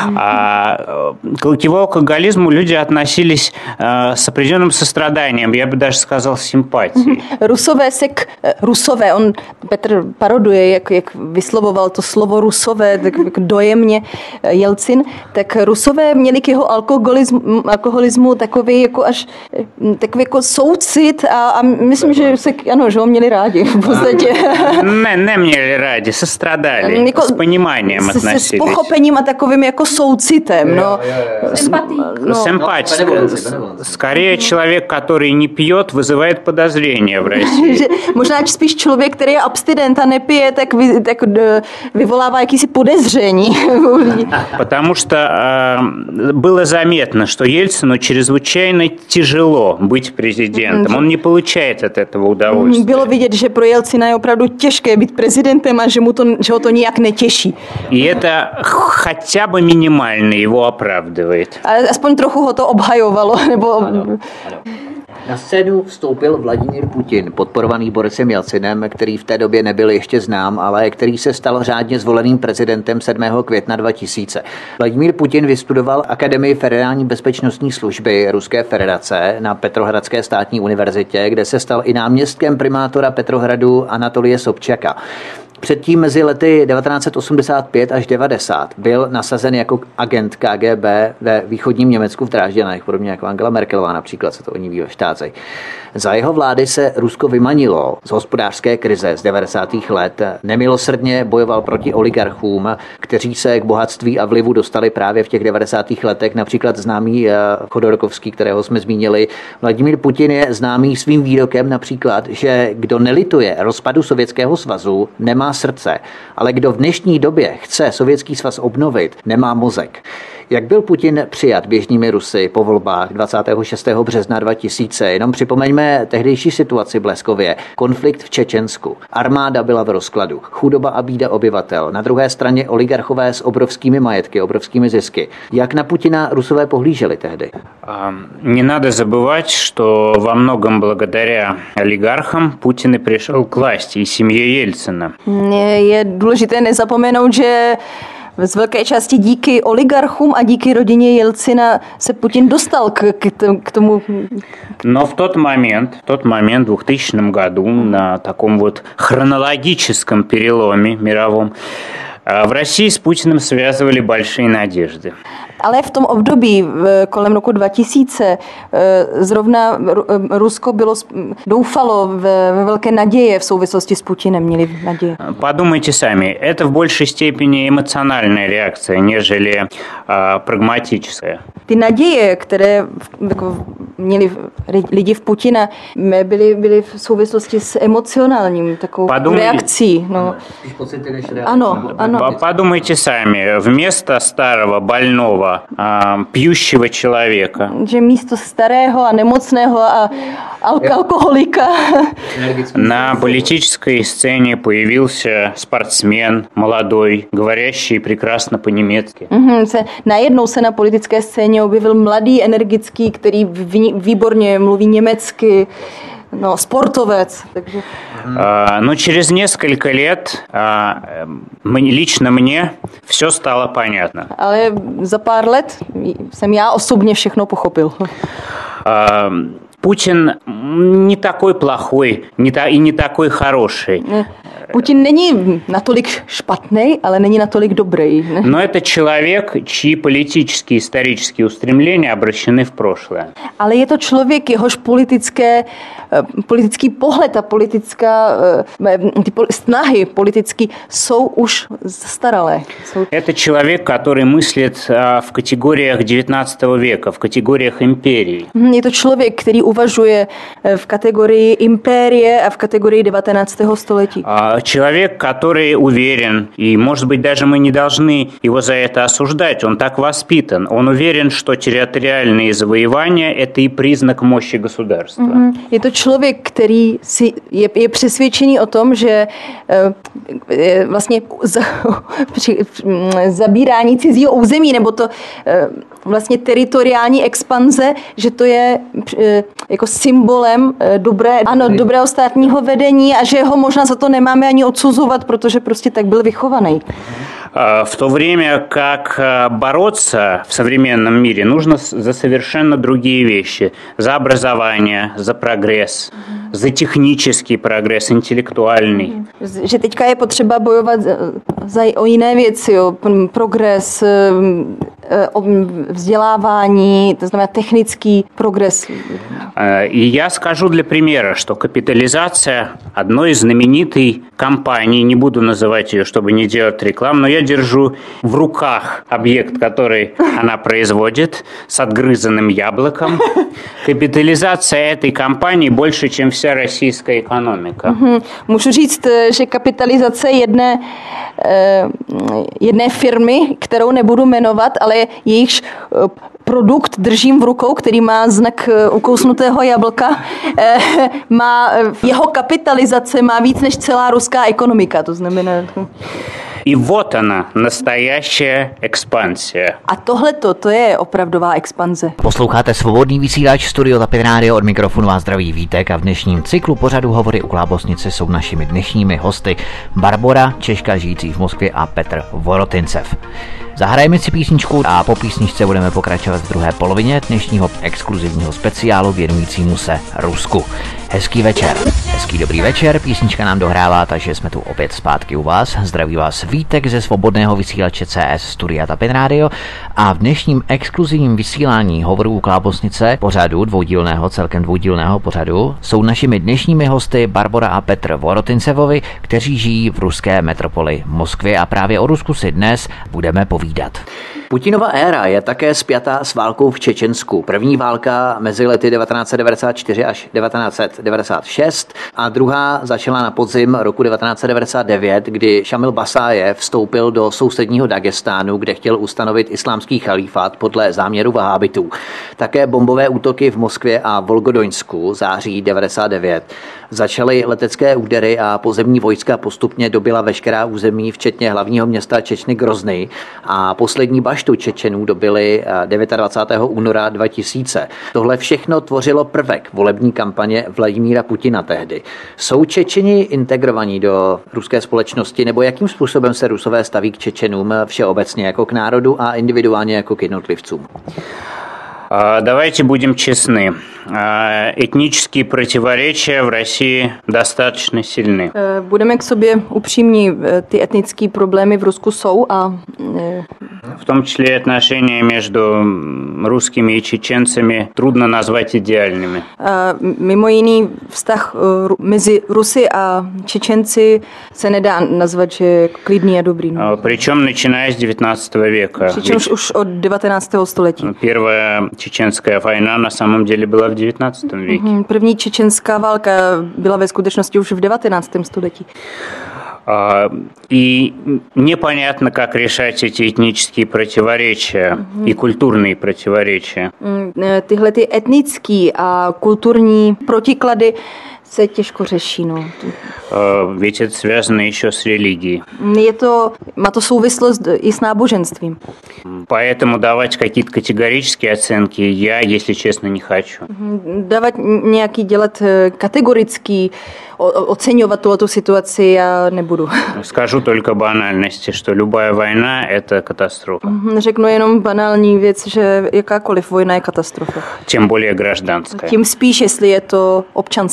К алкоголизму люди относились с определенным состраданием, я бы даже сказал, с симпатией. Rusové, on Petr paroduje, jak vyslovoval to slovo Rusové, tak dojemně Jelcin, tak Rusové měli k jeho alkoholismu takový jako až takový jako soucit a myslím, že že ho měli rádi v podstatě. Neměli rádi, sestradali, jako, s ponímáním относились. S pochopením a takovým jako soucitem. Симпатия. Скорее человек, который не пьет, вызывает подозрения в России. Možná spíš člověk, který je abstinent a nepije, tak vyvolává jakýsi podezření. Потому что было заметно, что Ельцину чрезвычайно тяжело быть президентом. Он не получает от этого удовольствия. Bylo vidět, že pro Jelcina je opravdu těžké být prezidentem a že ho to nijak netěší. И это хотя бы минимально его оправдывает. Ale aspoň trochu ho to obhajovalo. Na scénu vstoupil Vladimír Putin, podporovaný Borisem Jelcinem, který v té době nebyl ještě znám, ale který se stal řádně zvoleným prezidentem 7. května 2000. Vladimír Putin vystudoval Akademii Federální bezpečnostní služby Ruské federace na Petrohradské státní univerzitě, kde se stal i náměstkem primátora Petrohradu Anatolije Sobčaka. Předtím mezi lety 1985 až 90 byl nasazen jako agent KGB ve východním Německu v Drážďanech, podobně jako Angela Merkelová například, se to o ní ví ve Štácech. Za jeho vlády se Rusko vymanilo z hospodářské krize z 90. let. Nemilosrdně bojoval proti oligarchům, kteří se k bohatství a vlivu dostali právě v těch 90. letech. Například známý Chodorkovský, kterého jsme zmínili. Vladimír Putin je známý svým výrokem například, že kdo nelituje rozpadu Sovětského svazu, nemá srdce, ale kdo v dnešní době chce Sovětský svaz obnovit, nemá mozek. Jak byl Putin přijat běžnými Rusy po volbách 26. března 2000? Jenom připomeňme tehdejší situaci v Bleskově. Konflikt v Čečensku. Armáda byla v rozkladu. Chudoba a bída obyvatel. Na druhé straně oligarchové s obrovskými majetky, obrovskými zisky. Jak na Putina Rusové pohlíželi tehdy? Не надо забывать, что во многом благодаря олигархам Путин и пришел к власти, и семье Ельцина. Je důležité nezapomenout, že z velké části díky oligarchům a díky rodině Jelcina se Putin dostal k tomu. Но в тот момент, в 2000 году, на таком вот хронологическом переломе мировом, в России с Путиным связывали большие надежды. Ale v tom období kolem roku 2000 zrovna Rusko doufalo ve velké naděje v souvislosti s Putinem, měli naděje. Подумайте сами, это в большей степени эмоциональная реакция, нежели прагматическая. Ty naděje, které měli lidi v Putina, byly v souvislosti s emocionálním takovou reakcí. No. Ano. Подумайте сами, вместо старого, больного, пьющего человека. Že místo starého a nemocného a alkoholika на политической сцене появился спортсмен молодой, говорящий прекрасно по-немецки. Najednou se na politické scéně objevil mladý, energický, který výborně mluví německy. No, sportovec. Takže. Но через несколько лет лично мне все стало понятно. Ale za pár let jsem já osobně všechno pochopil. Путин не такой плохой и не такой хороший. Putin není natolik špatný, ale není natolik dobrý. Ne? Но это человек, чьи политические и исторические устремления обращены в прошлое. Ale je to člověk, jehož politický pohled a snahy politicky jsou už staralé. Это человек, который мыслит в категориях XIX века, в категориях империи. Je to člověk, který uvažuje v kategorii impérie a v kategorii 19. století. Человек, который уверен, и, может быть, даже мы не должны его за это осуждать, он так воспитан. Он уверен, что территориальные завоевания – это и признак мощи государства. Je to člověk, který je přesvědčený o tom, že vlastně zabírání cizího území, nebo to vlastně teritoriální expanze, že to je jako symbolem dobrého státního vedení a že ho možná za to nemáme ani odsuzovat, protože prostě tak byl vychovaný. В то время как бороться в современном мире нужно за совершенно другие вещи. За образование, за прогресс, за технический прогресс, интеллектуальный. Že teďka je potřeba bojovat o jiné věci, jo. Progres, vzdělávání, to znamená technický progres. И я скажу для примера, что капитализация одной знаменитой компании, не буду называть ее, чтобы не делать рекламу, но я держу в руках объект, который она производит, с отгрызанным яблоком. Капитализация этой компании больше, чем вся российская экономика. Můžu říct, že kapitalizace jedné firmy, kterou nebudu jmenovat, ale jejichž produkt držím v rukou, který má znak ukousnutého jablka, jeho kapitalizace má víc než celá ruská ekonomika, to znamená... И вот она, настоящая экспансия. A tohleto, to je opravdová expanze. Posloucháte Svobodný vysílač Studio Tapin Radio, od mikrofonu vás zdraví Vítek a v dnešním cyklu pořadu Hovory u Klábosnice jsou našimi dnešními hosty Barbora, Češka žijící v Moskvě, a Petr Vorotincev. Zahrajeme si písničku a po písničce budeme pokračovat v druhé polovině dnešního exkluzivního speciálu věnujícímu se Rusku. Hezký večer, hezký dobrý večer, písnička nám dohrává, takže jsme tu opět zpátky u vás. Zdraví vás Vítek ze Svobodného vysílače CS Studia Tapin Radio a v dnešním exkluzivním vysílání Hovorů u Klábosnice pořadu celkem dvoudílného pořadu jsou našimi dnešními hosty Barbora a Petr Vorotincevovi, kteří žijí v ruské metropoli Moskvě, a právě o Rusku si dnes budeme povídat. Putinova éra je také spjatá s válkou v Čečensku. První válka mezi lety 1994 až 1996 a druhá začala na podzim roku 1999, kdy Šamil Basájev vstoupil do sousedního Dagestánu, kde chtěl ustanovit islámský chalífát podle záměru vahábitů. Také bombové útoky v Moskvě a Volgodoňsku září 99. Začaly letecké údery a pozemní vojska postupně dobyla veškerá území, včetně hlavního města Čečny Grozny, a poslední baštu Čečenů dobyly 29. února 2000. Tohle všechno tvořilo prvek volební kampaně Vladimíra Putina tehdy. Jsou Čečeni integrovaní do ruské společnosti, nebo jakým způsobem se Rusové staví k Čečenům všeobecně jako k národu a individuálně jako k jednotlivcům? Давайте будем честны. Этнические противоречия в России достаточно сильны. Budeme k sobě upřímní, ty etnické problémy v Rusku jsou a в том числе отношения между русскими и чеченцами трудно назвать идеальными. Mimo jiný vztah mezi Rusy a Čečenci se nedá nazvat, že je klidný a dobrý. Причем начиная с 19 века. Přičemž už od 19. století. Первая чеченская война на самом деле была в 19 веке. První čečenská válka byla ve skutečnosti už v 19. století. И непонятно, как решать эти этнические противоречия и культурные противоречия. Tyhle ty etnické a kulturní protiklady se těžko řeší. No. Ведь это связано еще с религией. Má to souvislost i s náboženstvím. Поэтому давать какие-то категорические оценки я, если честно, не хочу. Dělat kategorický, oceňovat tuhletu situaci já nebudu. Скажу только банальности, что любая война – это катастрофа. Řeknu jenom banální věc, že jakákoliv vojna je katastrofa. Тем более гражданская. Tím spíš, jestli je to občanská válka.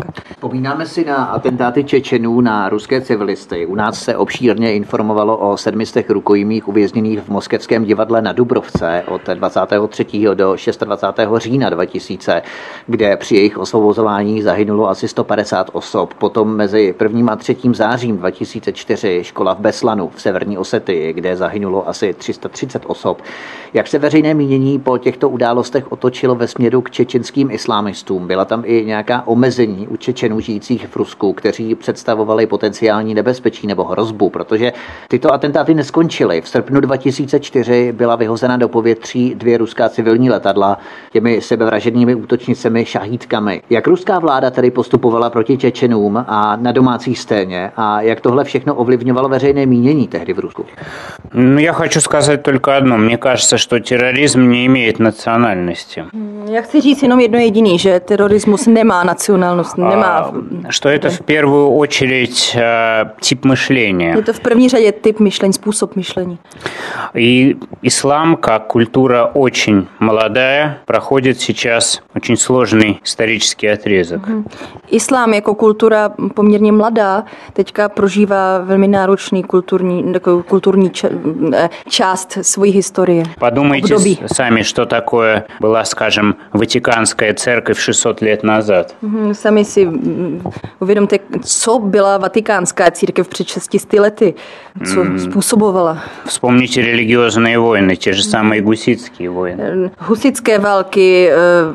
Lučenka. Vzpomínáme si na atentáty Čečenů na ruské civilisty. U nás se obšírně informovalo o 700 rukojmích uvězněných v moskevském divadle na Dubrovce od 23. do 26. října 2000, kde při jejich osvobozování zahynulo asi 150 osob. Potom mezi 1. a 3. zářím 2004 škola v Beslanu v severní Osetii, kde zahynulo asi 330 osob. Jak se veřejné mínění po těchto událostech otočilo ve směru k čečenským islámistům? Byla tam i nějaká omezení u Čečenů žijících v Rusku, kteří představovali potenciální nebezpečí nebo hrozbu, protože tyto atentáty neskončily. V srpnu 2004 byla vyhozena do povětří 2 ruská civilní letadla těmi sebevražednými útočnicemi šahídkami. Jak ruská vláda tedy postupovala proti Čečenům a na domácí scéně a jak tohle všechno ovlivňovalo veřejné mínění tehdy v Rusku? Я хочу сказать только одно. Мне кажется, что терроризм не имеет национальности. Já chci říct jenom jedno jediný, že terorismus nemá nacionálnost, nemá... Что это в первую очередь тип мышления. Je to v první řadě typ myšlení, způsob myšlení. И ислам, как культура очень молодая, проходит сейчас очень сложный исторический отрезок. Islám jako kultura poměrně mladá teďka prožívá velmi náročný kulturní část svojí historie. Подумайте сами, что такое была, скажем, Ватиканская церковь 600 лет назад. Sami si uvědomte, co byla Vatikánská církev před 600 lety, co způsobovala. Вспомните религиозные войны, те же самые гуситские войны. Husitské války,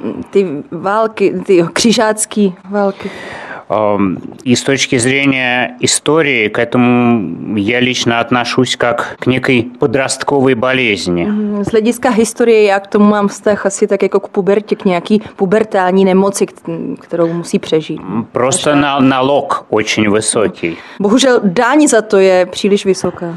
ty křižácké války. И с точки зрения истории к этому я лично отношусь как к некой подростковой болезни. Z hlediska historie já k tomu mám vztah asi tak jako k pubertě, k nějaký pubertální nemoci, kterou musí přežít. Просто налог очень высокий. Bohužel daň za to je příliš vysoká.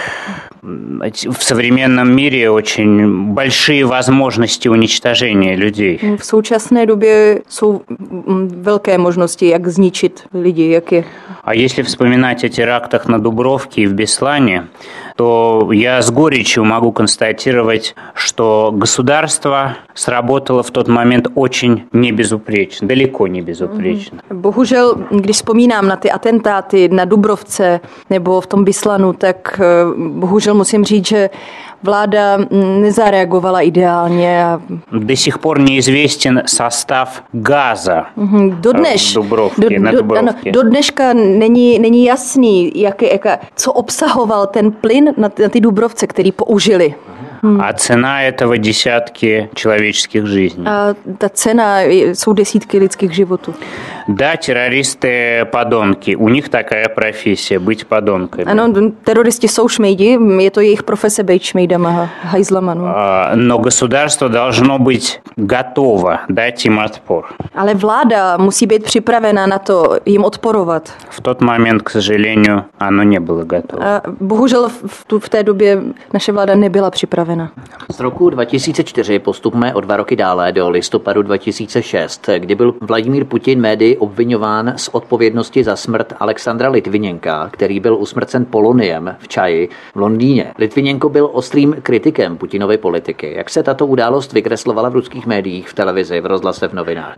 В современном мире очень большие возможности уничтожения людей. V současné době jsou velké možnosti, jak zničit lidi, jak je. А если вспоминать о терактах на Дубровке и в Беслане, то я с горечью могу констатировать, что государство сработало в тот момент очень небезупречно, далеко не безупречно. Bohužel, když vzpomínám na ty atentáty na Dubrovce nebo v tom Bislanu, tak bohužel musím říct, že vláda nezareagovala ideálně. До сих пор неизвестен состав газа в Дубровке, на Дубровке. Do dneška není jasný, co obsahoval ten plyn na ty Dubrovce, který použili. А цена этого десятки человеческих жизней. A ta cena jsou desítky lidských životů. Да, террористы подонки. У них такая профессия быть подонками. Ano, teroristi jsou šmejdi, je to jejich profese být šmejdama, hajzlama. No. Но государство должно быть готово дать им отпор. Ale vláda musí být připravena na to jim odporovat. В тот момент, к сожалению, оно не было готово. A bohužel v té době naše vláda nebyla připravena. Z roku 2004 postupme o 2 roky dále do listopadu 2006, kdy byl Vladimír Putin médii obviňován z odpovědnosti za smrt Alexandra Litviněnka, který byl usmrcen poloniem v Čaji v Londýně. Litviněnko byl ostrým kritikem Putinovy politiky. Jak se tato událost vykreslovala v ruských médiích, v televizi, v rozhlase, v novinách?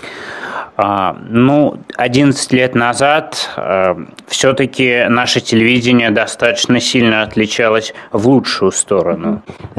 11 лет назад все-таки наше телевидение достаточно сильно отличалось в лучшую сторону.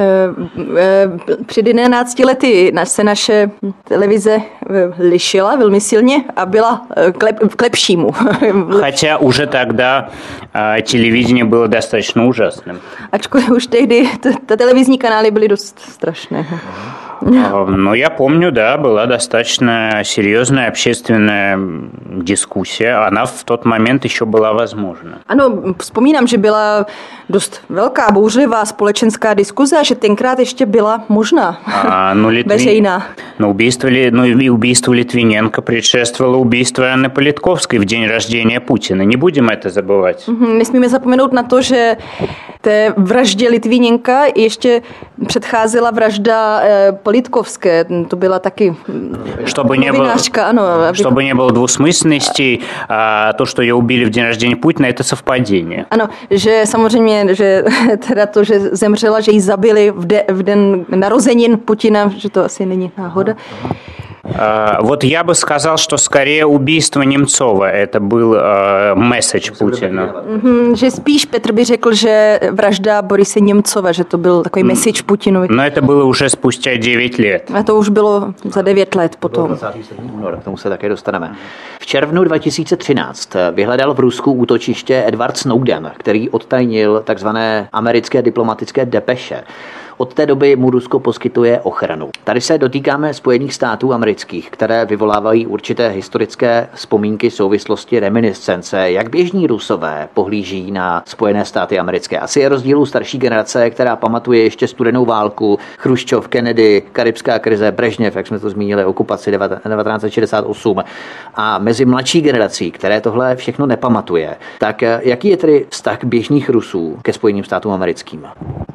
Před 11 lety se naše televize lišila velmi silně a byla k lepšímu. Хотя уже тогда телевидение было достаточно ужасным. Ačkoliv už tehdy televizní kanály byly dost strašné. Но я помню, да, была достаточно серьезная общественная дискуссия. Она в тот момент еще была возможна. Ano, vzpomínám, že byla dost velká, bouřlivá společenská diskuze a že tenkrát ještě byla možná, veřejná. Но убийство Литвиненко предшествовало убийство Анны Политковской в день рождения Путина. Не будем это забывать. Nesmíme zapomenout na to, že té vraždě Litvinenka ještě předcházela vražda Politkovské. To byla taky novinářka, ano. Чтобы не было двусмысленностей, то, что ее убили в день рождения Путина, это совпадение. Ano, že samozřejmě, že teda to, že zemřela, že ji zabili v den narozenin Putina, že to asi není náhoda. Вот я бы сказал, что скорее убийство Немцова. Это был месседж Путина. Že spíš Petr by řekl, že vražda Borise Němcova, že to byl takový message Putinovi. Но это было уже спустя 9 лет. A to už bylo za 9 let potom. 27. února, k tomu se také dostaneme. V červnu 2013 vyhledal v Rusku útočiště Edward Snowden, který odtajnil takzvané americké diplomatické depeše. Od té doby mu Rusko poskytuje ochranu. Tady se dotýkáme Spojených států amerických, které vyvolávají určité historické vzpomínky, souvislosti, reminiscence. Jak běžní Rusové pohlíží na Spojené státy americké? Asi je rozdíl starší generace, která pamatuje ještě studenou válku, Chruščov, Kennedy, karibská krize, Brežněv, jak jsme to zmínili, okupaci 1968. A mezi mladší generací, které tohle všechno nepamatuje, tak jaký je tedy vztah běžných Rusů ke Spojeným státům americkým?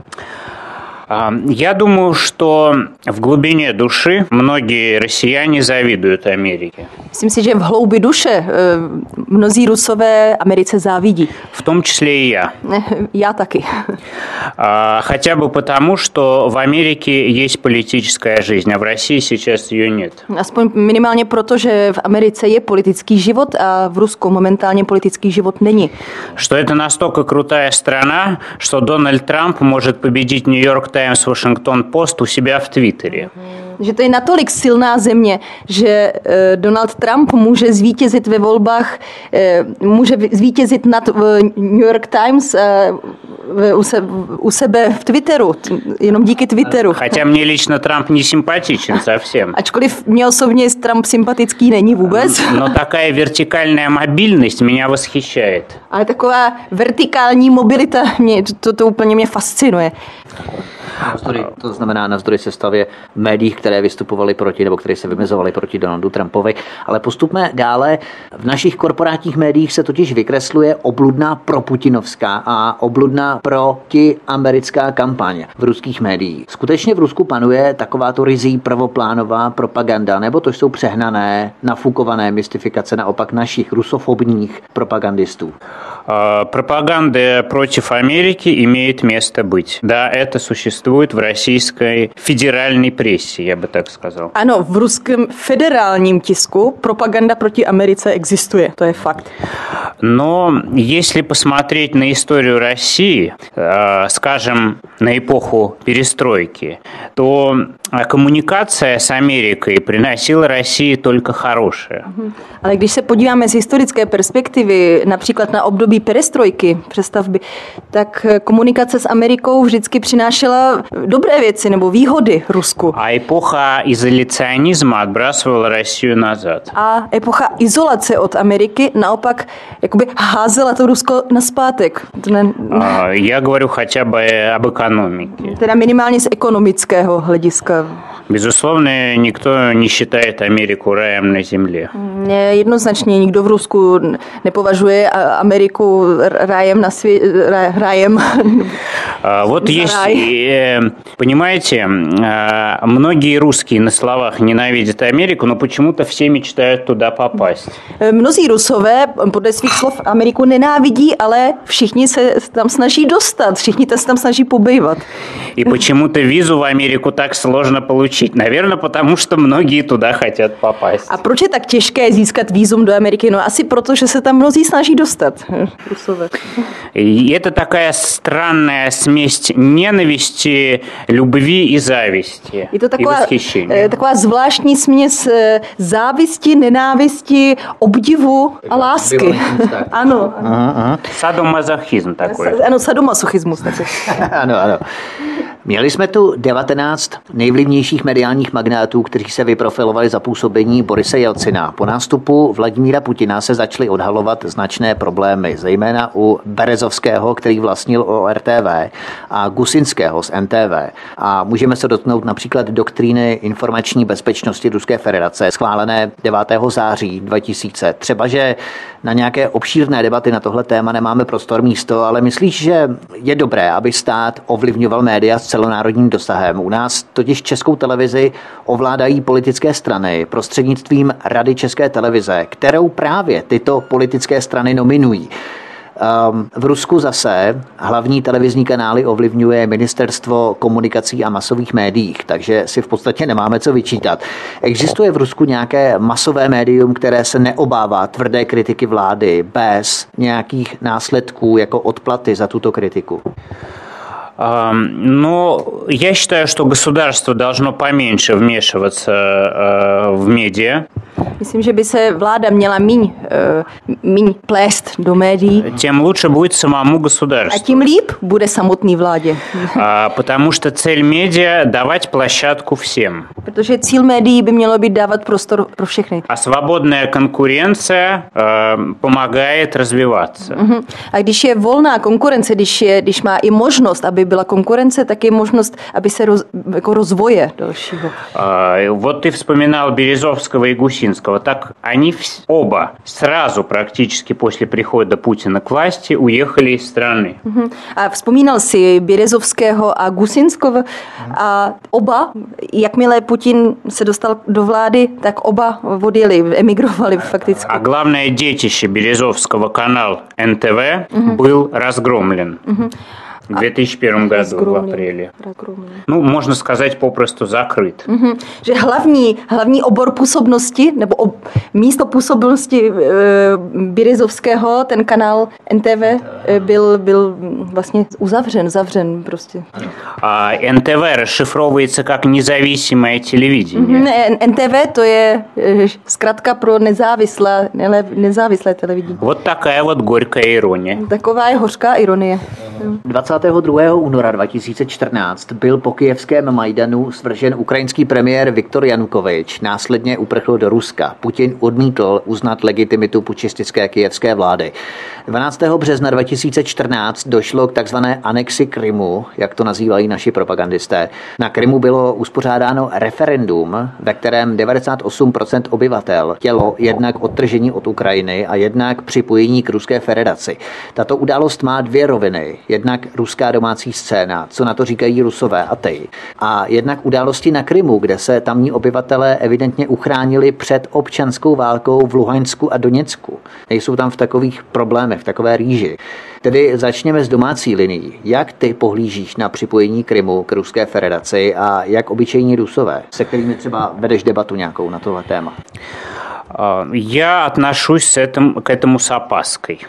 Я думаю, что в глубине души многие россияне завидуют Америке. Myslím si, že v hloubi duše mnozí Rusové Americe závidí. В том числе и я. Já taky. Хотя бы потому, что в Америке есть политическая жизнь, а в России сейчас ее нет. Aspoň minimálně proto, že v Americe je politický život a v Rusku momentálně politický život není. Что это настолько крутая страна, что Дональд Трамп может победить Нью-Йорк Таймс, Вашингтон Пост у себя в Твиттере. Že to je natolik silná země, že Donald Trump může zvítězit ve volbách, může zvítězit nad New York Times u sebe v Twitteru, jenom díky Twitteru. Хотя мне лично Трамп не симпатичен совсем. Ačkoliv mě osobně Trump sympatický není vůbec. Но такая вертикальная мобильность меня восхищает. Ale taková vertikální mobilita, to úplně mě fascinuje. To znamená navzdory sestavě médií, které vystupovaly proti nebo které se vymezovaly proti Donaldu Trumpovi. Ale postupme dále. V našich korporátních médiích se totiž vykresluje obludná proputinovská a obludná protiamerická kampaň v ruských médiích. Skutečně v Rusku panuje takováto rizí prvoplánová propaganda, nebo to jsou přehnané, nafukované mystifikace naopak našich rusofobních propagandistů? Пропаганда против Америки имеет место быть. Да, это существует в российской федеральной прессе, я бы так сказал. Ano, v ruském federálním tisku propaganda proti Americe existuje, to je fakt. Но если посмотреть на историю России, скажем, на эпоху перестройки, то коммуникация с Америкой приносила России только хорошее. Ale když se podíváme z historické perspektivy, například na období perestrojky, přestavby, tak komunikace s Amerikou vždycky přinášela dobré věci nebo výhody Rusku. А эпоха изоляционизма отбрасывала Россию назад. A epocha izolace od Ameriky naopak jakoby házela to Rusko nazpátek. Я говорю хотя бы об экономике. Teda minimálně z ekonomického hlediska. Безусловно, никто не считает Америку раем на земле. Jednoznačně nikdo v Rusku nepovažuje Ameriku rájem na světě. Rájem. Вот есть, понимаете, многие русские на словах ненавидят Америку, но почему-то все мечтают туда попасть. Mnozí Rusové podle svých slov Ameriku nenávidí, ale všichni se tam snaží dostat, všichni se tam snaží pobývat. И почему-то визу в Америку так сложно получить. Наверное, потому что многие туда хотят попасть. A proč je tak těžké získat vízum do Ameriky? No asi proto, že se tam mnozí snaží dostat. Rusové. И это такая странная смесь ненависти, любви и зависти. Je to и восхищения. taková zvláštní směs závisti, nenávisti, obdivu a lásky. Ano. Sadomasochizm такой. Ano, sadomasochismus. Ano, ano. Měli jsme tu 19 nejvlivnějších mediálních magnátů, kteří se vyprofilovali za působení Borise Jelcina. Po nástupu Vladimíra Putina se začaly odhalovat značné problémy, zejména u Berezovského, který vlastnil ORTV, a Gusinského z NTV. A můžeme se dotknout například doktríny informační bezpečnosti Ruské federace, schválené 9. září 2000. Třeba, že na nějaké obšírné debaty na tohle téma nemáme prostor místo, ale myslíš, že je dobré, aby stát ovlivňoval média s celonárodním dosahem? U nás totiž Českou televizi ovládají politické strany prostřednictvím Rady České televize, kterou právě tyto politické strany nominují. V Rusku zase hlavní televizní kanály ovlivňuje Ministerstvo komunikací a masových médií, takže si v podstatě nemáme co vyčítat. Existuje v Rusku nějaké masové médium, které se neobává tvrdé kritiky vlády bez nějakých následků jako odplaty za tuto kritiku? Но я считаю, что государство должно поменьше вмешиваться в медиа. Myslím, že by se vláda měla míň plést do médií. Тем лучше будет самому государству. A tím líp bude samotný vládě. Потому что цель медиа – давать площадку всем. Protože cíl médií by mělo být dávat prostor pro všechny. А свободная конкуренция помогает развиваться. A když je volná konkurence, když má i možnost, aby byla konkurence, tak je možnost, aby se jako rozvoje dalšího. Вот ты вспоминал Березовского и Гусинского. Так они оба сразу практически после прихода Путина к власти уехали из страны. A vzpomínal si Běrezovského a Gusinskого a oba, jakmile Putin se dostal do vlády, tak oba odjeli, emigrovali fakticky. А главное детище Березовского, канал НТВ, был разгромлен. В 2001 году в апреле. Ну, можно сказать, попросту закрыт. Že hlavní obor působnosti, nebo místo působnosti Běrezovského, ten kanál NTV, byl vlastně zavřen prostě. А НТВ расшифровывается как независимое телевидение. NTV to je zkratka pro nezávislé televidění. Вот такая вот горькая ирония. Taková je hořká ironie. 22. února 2014 byl po kyjevském Majdanu svržen ukrajinský premiér Viktor Janukovyč. Následně uprchl do Ruska. Putin odmítl uznat legitimitu pučistické kyjevské vlády. 12. března 2014 došlo k takzvané anexi Krymu, jak to nazývají naši propagandisté. Na Krymu bylo uspořádáno referendum, ve kterém 98% obyvatel chtělo jednak odtržení od Ukrajiny a jednak připojení k Ruské federaci. Tato událost má dvě roviny. Jednak ruská domácí scéna, co na to říkají Rusové a ty. A jednak události na Krymu, kde se tamní obyvatelé evidentně uchránili před občanskou válkou v Luhansku a Doněcku. Nejsou tam v takových problémech, v takové rýži. Tedy začněme s domácí linií. Jak ty pohlížíš na připojení Krymu k Ruské federaci a jak obyčejní Rusové, se kterými třeba vedeš debatu nějakou na tohle téma? Я отношусь к этому с опаской.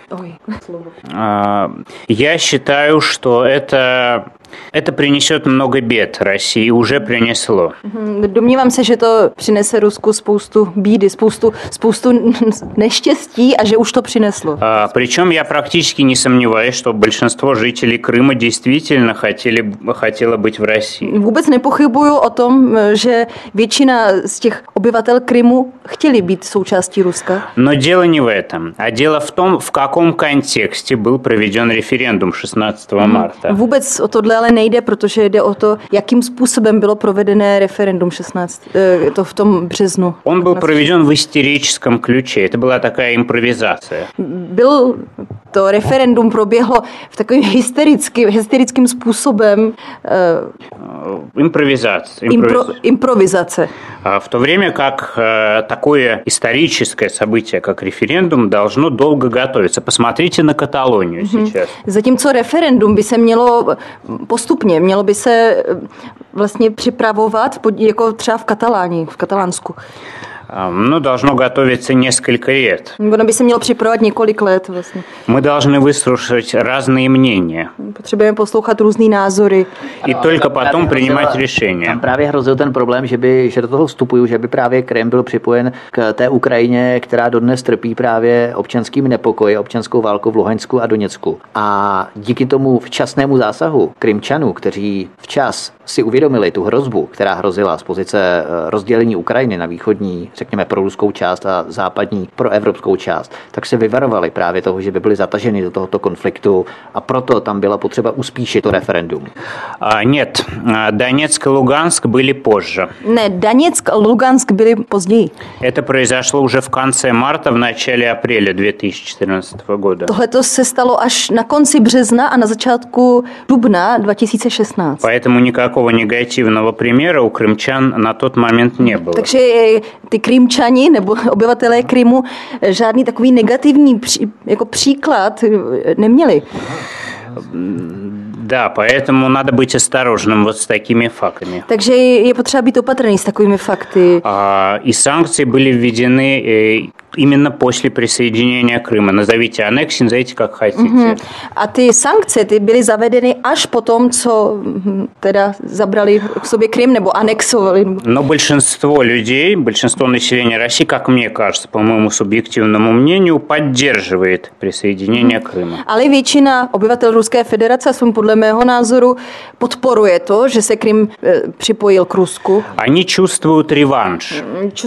Я считаю, что это принесет много бед России, уже принесло. Domnívám se, že to přinese Rusku spoustu bídy, spoustu neštěstí a že už to přineslo. Причем я практически не сомневаюсь, что большинство жителей Крыма действительно хотело быть в России. Vůbec nepochybuju o tom, že většina z těch obyvatel Krymu chtěli být součástí Ruska. Но дело не в этом, а дело в том, в каком контексте был проведен референдум 16 марта. Vůbec o tohle ale nejde, protože jde o to, jakým způsobem bylo provedené referendum 16, to v tom březnu. Он был проведен в истерическом ключе. Это была такая импровизация. To referendum proběhlo v takovým hysterickým způsobem. Improvizace. В то время как такое историческое событие, как референдум, должно долго готовиться. Посмотрите на Каталонию сейчас. Zatímco referendum by se mělo by se vlastně připravovat jako třeba v Katalánsku. Ну, должно готовиться несколько лет. Ono by se mělo připravovat několik let vlastně. Мы должны выслушать разные мнения. Potřebujeme poslouchat různý názory. И только потом принимать решения. Tam právě hrozil ten problém, že do toho vstupují, že by právě Krym byl připojen k té Ukrajině, která dodnes trpí právě občanským nepokoji, občanskou válkou v Luhansku a Doněcku. A díky tomu včasnému zásahu Krymčanů, kteří včas si uvědomili tu hrozbu, která hrozila z pozice rozdělení Ukrajiny na východní, řekněme, pro ruskou část a západní pro evropskou část, tak se vyvarovali právě toho, že by byli zataženi do tohoto konfliktu a proto tam byla potřeba uspíšit to referendum. Нет, Донецк и Луганск были позже. Ne, Donetsk a Lugansk byly později. Это произошло уже в конце марта, в начале апреля 2014 года. Tohleto se stalo až na konci března a na začátku dubna 2016. Поэтому никакого негативного примера у крымчан на тот момент не было. Takže ty Krymčani nebo obyvatelé Krymu žádný takový negativní jako příklad neměli. Да, поэтому надо быть осторожным вот с такими фактами. Takže je potřeba být opatrný s takovými fakty. И санкции были введены именно после присоединения Крыма. Назовите аннексию, назовите как хотите. A ty sankce ty byly zavedeny až po tom, co teda zabrali k sobě Krym nebo anexovali. Но большинство людей, большинство населения России, как мне кажется, по моему субъективному мнению, поддерживает присоединение Крыма. Ale většina obyvatel Ruské federace, aspoň podle mého názoru, podporuje to, že se Krym připojil k Rusku. Они чувствуют реванш.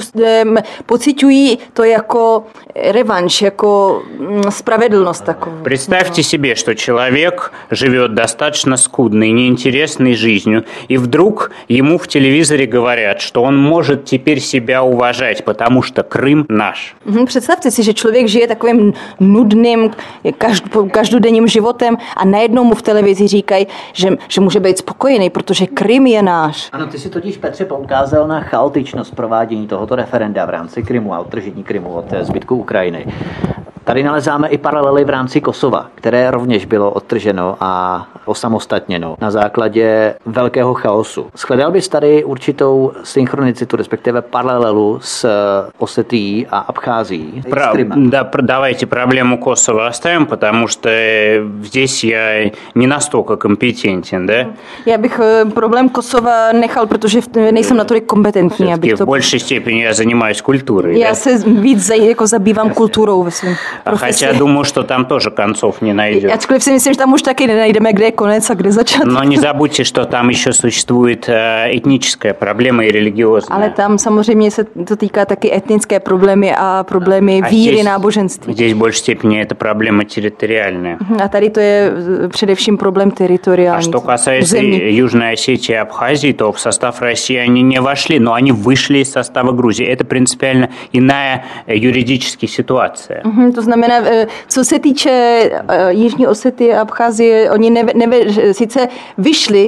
Pociťují to jako revanš, jako spravedlnost takovou. Представьте себе, что человек живет достаточно скудной, неинтересной жизнью, и вдруг ему в телевизоре говорят, что он может теперь себя уважать, потому что Крым наш. Představte si, že člověk žije takovým nudným, každodenním životem a najednou mu v televizi říkají, že může být spokojený, protože Krym je náš. Ano, ty si totiž, Petře, poukázal na chaotičnost provádění tohoto referenda v rámci Krymu a odtržení Krymu od zbytku Ukrajiny. Tady nalezáme i paralely v rámci Kosova, které rovněž bylo odtrženo a osamostatněno na základě velkého chaosu. Shledal bys tady určitou synchronicitu, respektive paralelu s Osetií a Abcházií? Да, давайте проблему Косово оставим, потому что здесь я не настолько компетентен, да? Já bych problém Kosova nechal, protože nejsem natolik kompetentní, abych to... В большей степени я занимаюсь культурой. Já se víc jako zabývám kulturou ve svém profesi. Хотя думаю, что там тоже концов не найдет. Ačkoliv si myslím, že tam už taky nenajdeme, kde je konec a kde začátek. Но не забудьте, что там еще существует этническая проблема и религиозная. Ale tam samozřejmě se to týká taky etnické problémy a problémy víry, náboženství. Здесь в большей степени это проблема территориальная. A tady to je především problém teritoriální. А что касается Южной Осетии и Абхазии, то в состав России они не вошли, но они вышли из состава Грузии. Это принципиально иная юридическая ситуация. To znamená, co se týče Jižní Osety a Abcházie, oni sice vyšli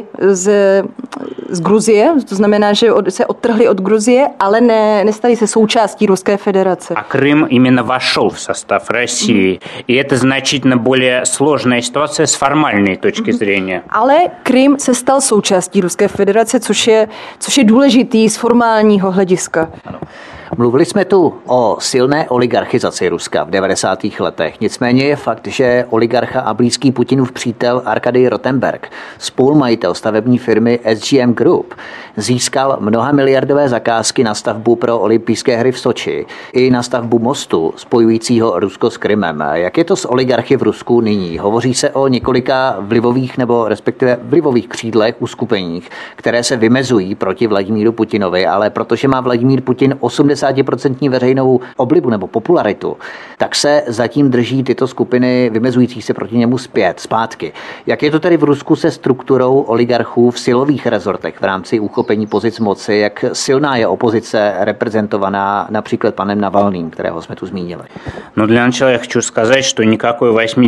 z Gruzie, to znamená, že se odtrhli od Gruzie, ale nestali se součástí Ruské federace. А Крым именно вошел в состав России. И это значительно более сложная ситуация с формальной точки зрения. Ale Krym se stal součástí Ruské federace, což je důležitý z formálního hlediska. Ano. Mluvili jsme tu o silné oligarchizaci Ruska v 90. letech. Nicméně je fakt, že oligarcha a blízký Putinův přítel Arkadij Rotenberg, spolumajitel stavební firmy SGM Group, získal mnohamiliardové zakázky na stavbu pro olympijské hry v Soči i na stavbu mostu spojujícího Rusko s Krymem. Jak je to s oligarchy v Rusku nyní? Hovoří se o několika vlivových nebo respektive vlivových křídlech, uskupeních, které se vymezují proti Vladimíru Putinovi, ale protože má Vladimír Putin 80% veřejnou oblibu nebo popularitu, tak se zatím drží tyto skupiny vymezující se proti němu zpátky. Jak je to tedy v Rusku se strukturou oligarchů v silových rezortech v rámci uchopení pozic moci? Jak silná je opozice reprezentovaná například panem Navalným, kterého jsme tu zmínili? Но для начала я хочу сказать, что никакой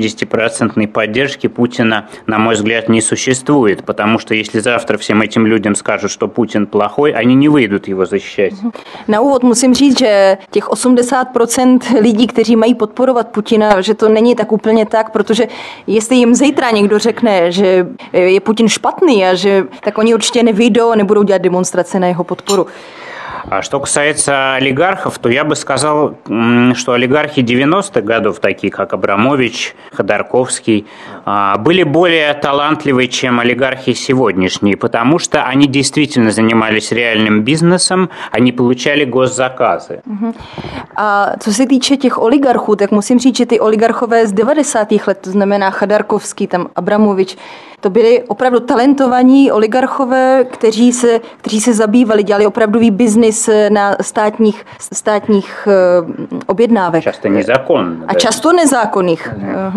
80% поддержки Путина, на мой взгляд, не существует, потому что если завтра всем этим людям скажут, что Путин плохой, они не выйдут его защищать. Na úvod musím říct, že těch 80% lidí, kteří mají podporovat Putina, že to není tak úplně tak, protože jestli jim zítra někdo řekne, že je Putin špatný a tak oni určitě nevyjdou a nebudou dělat demonstrace na jeho podporu. А что касается олигархов, то я бы сказал, что олигархи 90-х годов, такие как Абрамович, Ходорковский, были более талантливые, чем олигархи сегодняшние, потому что они действительно занимались реальным бизнесом, они получали госзаказы. A co se týče těch oligarchů, tak musím říct, že ty oligarchové z 90. let, to znamená Chodorkovský, tam Abramovič, to byli opravdu talentovaní oligarchové, kteří se zabývali, dělali opravdový biznis na státních objednávek. Často nezákonných. A často nezákonných.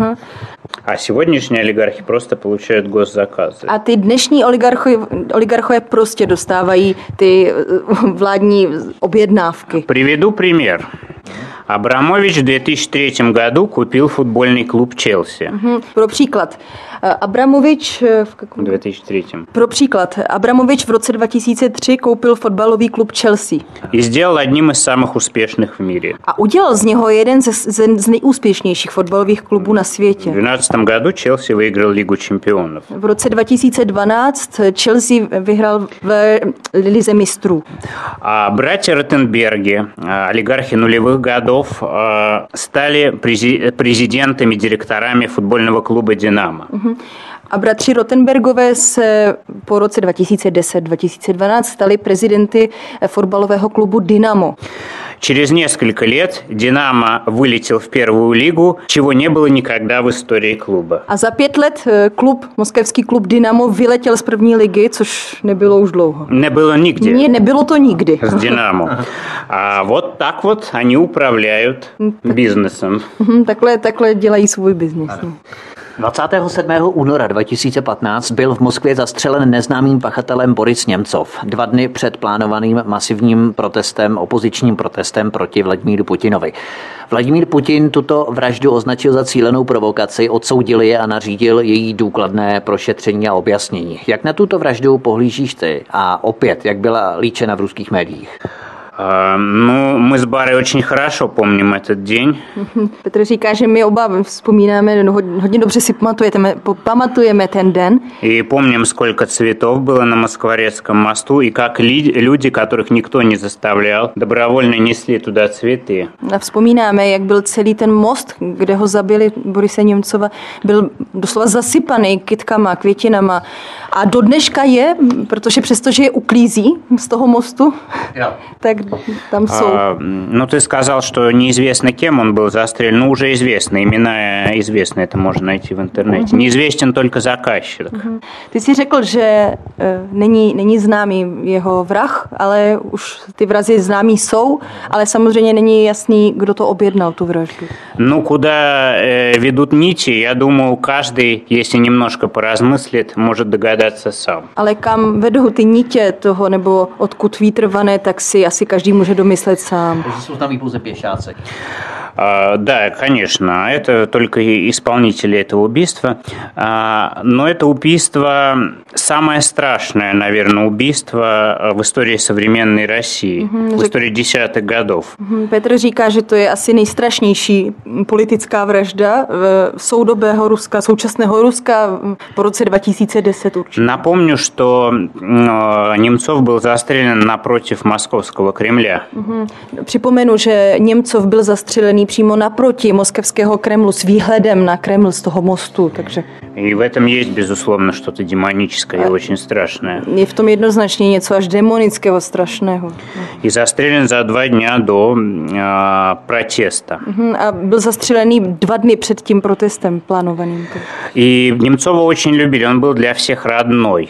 A сегодняшние олигархи просто получают госзаказы. A ty dnešní oligarchové prostě dostávají ty vládní objednávky. Приведу пример. Абрамович в 2003 году купил футбольный клуб «Челси». Pro příklad. Abramovič В 2003. Pro příklad. Abramovič v roce 2003 koupil fotbalový klub Chelsea. И сделал одним из самых успешных в мире. A udělal z něho jeden z nejúspěšnějších fotbalových klubů na světě. В 2012 году Челси выиграл Лигу чемпионов. V roce 2012 Chelsea vyhrál v Lize mistrů. А братья Ротенберги, олигархи нулевых годов, стали президентами, директорами футбольного клуба «Динамо». A bratři Rottenbergové se po roce 2010-2012 stali prezidenty fotbalového klubu Dynamo. Через несколько лет «Динамо» вылетел в первую лигу, чего не было никогда в истории клуба. A za 5 let moskevský klub Dynamo vyletěl z první ligy, což nebylo už dlouho. Nebylo nigде. Nebylo to nikdy. С «Динамо». А вот так вот они управляют бизнесом. Takhle dělají svůj biznis. 27. února 2015 byl v Moskvě zastřelen neznámým pachatelem Boris Němcov 2 dny před plánovaným masivním opozičním protestem proti Vladimíru Putinovi. Vladimír Putin tuto vraždu označil za cílenou provokaci, odsoudil je a nařídil její důkladné prošetření a objasnění. Jak na tuto vraždu pohlížíš ty? A opět, jak byla líčena v ruských médiích? Ну, мы с Барой очень хорошо помним этот день. Petr říká, že my oba vzpomínáme, hodně dobře si pamatujeme ten den. И помним, сколько цветов было на Москворецком мосту, и как люди, которых никто не заставлял, добровольно несли туда цветы. A vzpomínáme, jak byl celý ten most, kde ho zabili Borise Němcova, byl doslova zasypaný kytkama, květinama. A do dneška je, protože přestože je uklízí z toho mostu, tak там jsou. Ну, ты сказал, что неизвестно, кем он был застрелен. Ну, уже известно. Имена известны, это можно найти в интернете. Неизвестен только заказчик. Ty jsi řekl, že není známý jeho vrah, ale už ty vrazy známí jsou, ale samozřejmě není jasný, kdo to objednal, tu vraždu. Ну, куда ведут нити, я думаю, каждый, если немножко поразмыслит, может догадаться сам. Ale kam vedou ty nitě toho, nebo odkud vítr vane, tak si asi každý může domyslet sám. Takže jsou tam pouze pěšáci. Да, конечно, это только исполнители этого убийства. Но это убийство самое страшное, наверное, убийство в истории современной России, в истории десятых годов. Petr říká, že to je asi nejstrašnější politická vražda soudobého Ruska, současného Ruska po roce 2010 určitě. Напомню, что Немцов был застрелен напротив Московского Кремля. Připomenu, že Němcov byl zastřelený přímo naproti moskevského Kremlu s výhledem na Kreml z toho mostu, takže... И в этом есть, безусловно, что-то демоническое и очень страшное. Je v tom jednoznačně něco až demonického, strašného. И застрелен за 2 дня до протеста. A byl zastřelený 2 dny před tím protestem plánovaným. И Немцова очень любили, он был для всех родной.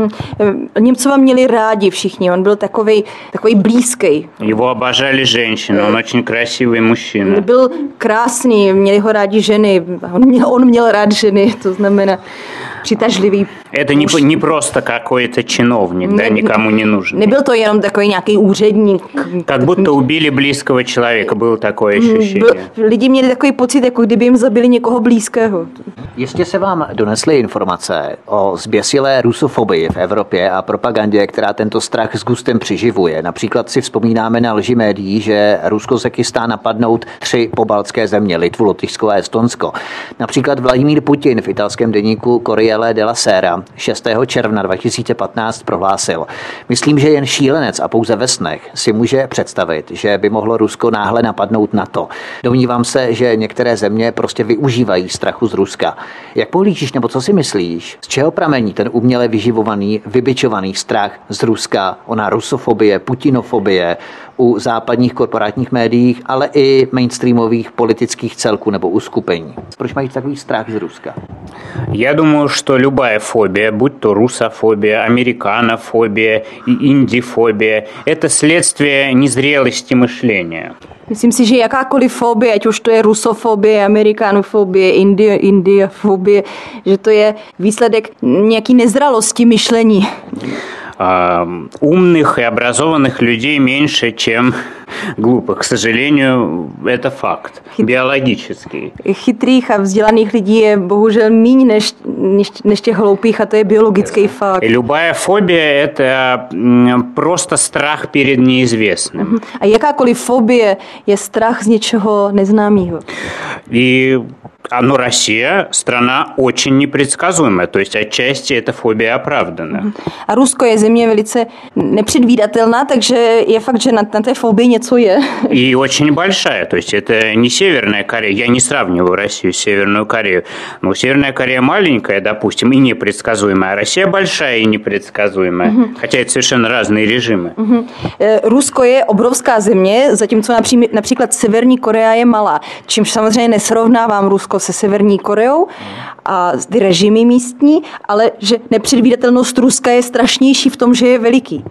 Němcova měli rádi všichni, on byl takovej blízký. Его обожали женщины, он очень красивый мужчина. Byl krásný, měli ho rádi ženy, on měl rád ženy, to znamená přitažlivý. Это не просто какой-то чиновник, да, никому не нужен. Nebyl to jenom takový nějaký úředník. Как будто убили близкого человека, было такое ощущение. Lidi měli takový pocit, jako kdyby jim zabili někoho blízkého. Jistě se vám donesly informace o zběsilé rusofobii v Evropě a propagandě, která tento strach s gustem přiživuje. Například si vzpomínáme na lži médií, že Rusko se chystá napadnout 3 pobaltské země, Litvu, Lotyšsko a Estonsko. Například Vladimír Putin v italském deníku Corriere della Sera 6. června 2015 prohlásil: Myslím, že jen šílenec a pouze ve snech si může představit, že by mohlo Rusko náhle napadnout NATO. Domnívám se, že některé země prostě využívají strachu z Ruska. Jak pohlížíš nebo co si myslíš? Z čeho pramení ten uměle vyživovaný, vybičovaný strach z Ruska, ona rusofobie, putinofobie u západních korporátních médiích, ale i mainstreamových politických celků nebo uskupení? Proč mají takový strach z Ruska? Я думаю, что любая фобия, будь то русофобия, американофобия и индифобия, это следствие незрелости мышления. Myslím si, že jakákoliv fobie, ať už to je rusofobie, amerikanofobie, indiofobie, že to je výsledek nějaký nezralosti myšlení. умных и образованных людей меньше, чем глупых. К сожалению, это факт биологический. Chytrých a vzdělaných lidí je bohužel míň než těch hloupých, a to je biologický fakt. Любая фобия – это просто страх перед неизвестным. A jakákoliv fobie je strach z něčeho neznámého. И Россия – страна очень непредсказуемая, то есть отчасти эта фобия оправдана. A Rusko je země velice nepředvídatelná, takže je fakt, že na té fobii něco je. И очень большая, то есть это не Северная Корея, я не сравниваю Россию с Северную Корею, но Северная Корея маленькая, допустим, и непредсказуемая, а Россия большая и непредсказуемая, хотя это совершенно разные режимы. Rusko je obrovská země, zatímco například Severní Korea je malá, čímž samozřejmě nesrovnávám Rusko se Severní Koreou a ty režimy místní, ale že nepředvídatelnost Ruska je strašnější v tom, že je veliký.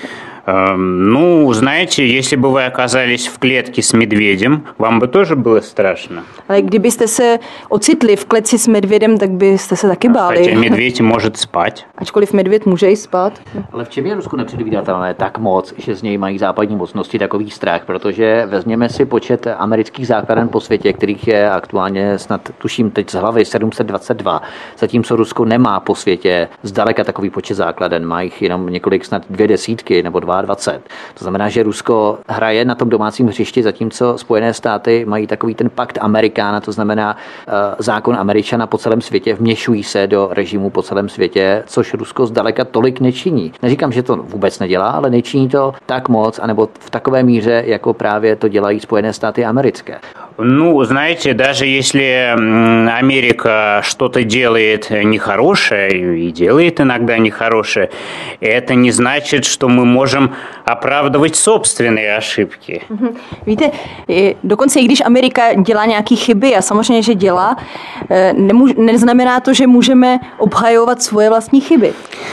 Ну, знаете, если бы вы оказались в клетке с медведем, вам бы тоже было страшно. Ale kdybyste se ocitli v kleci s medvědem, tak byste se taky báli. Хотя медведь может спать. Ačkoliv medvěd může i spát. Ale v čem je Rusko nepředvídatelné tak moc, že z něj mají západní mocnosti takový strach? Protože vezměme si počet amerických základen po světě, kterých je aktuálně snad, tuším teď z hlavy 722, zatímco Rusko nemá po světě zdaleka takový počet základen, má jich jenom několik, snad 2 nebo 22. To znamená, že Rusko hraje na tom domácím hřišti, zatímco Spojené státy mají takový ten pakt Amerikána, to znamená zákon Američana po celém světě, vměšují se do režimu po celém světě, což Rusko zdaleka tolik nečiní. Neříkám, že to vůbec nedělá, ale nečiní to tak moc, anebo v takové míře, jako právě to dělají Spojené státy americké. Ну, знаете, даже если Америка что-то делает нехорошее, и делает иногда нехорошее, это не значит, что мы можем оправдывать собственные ошибки. Víte, dokonce i když Amerika dělá nějaké chyby, a samozřejmě, že dělá, neznamená to, že můžeme obhajovat svoje vlastní chyby.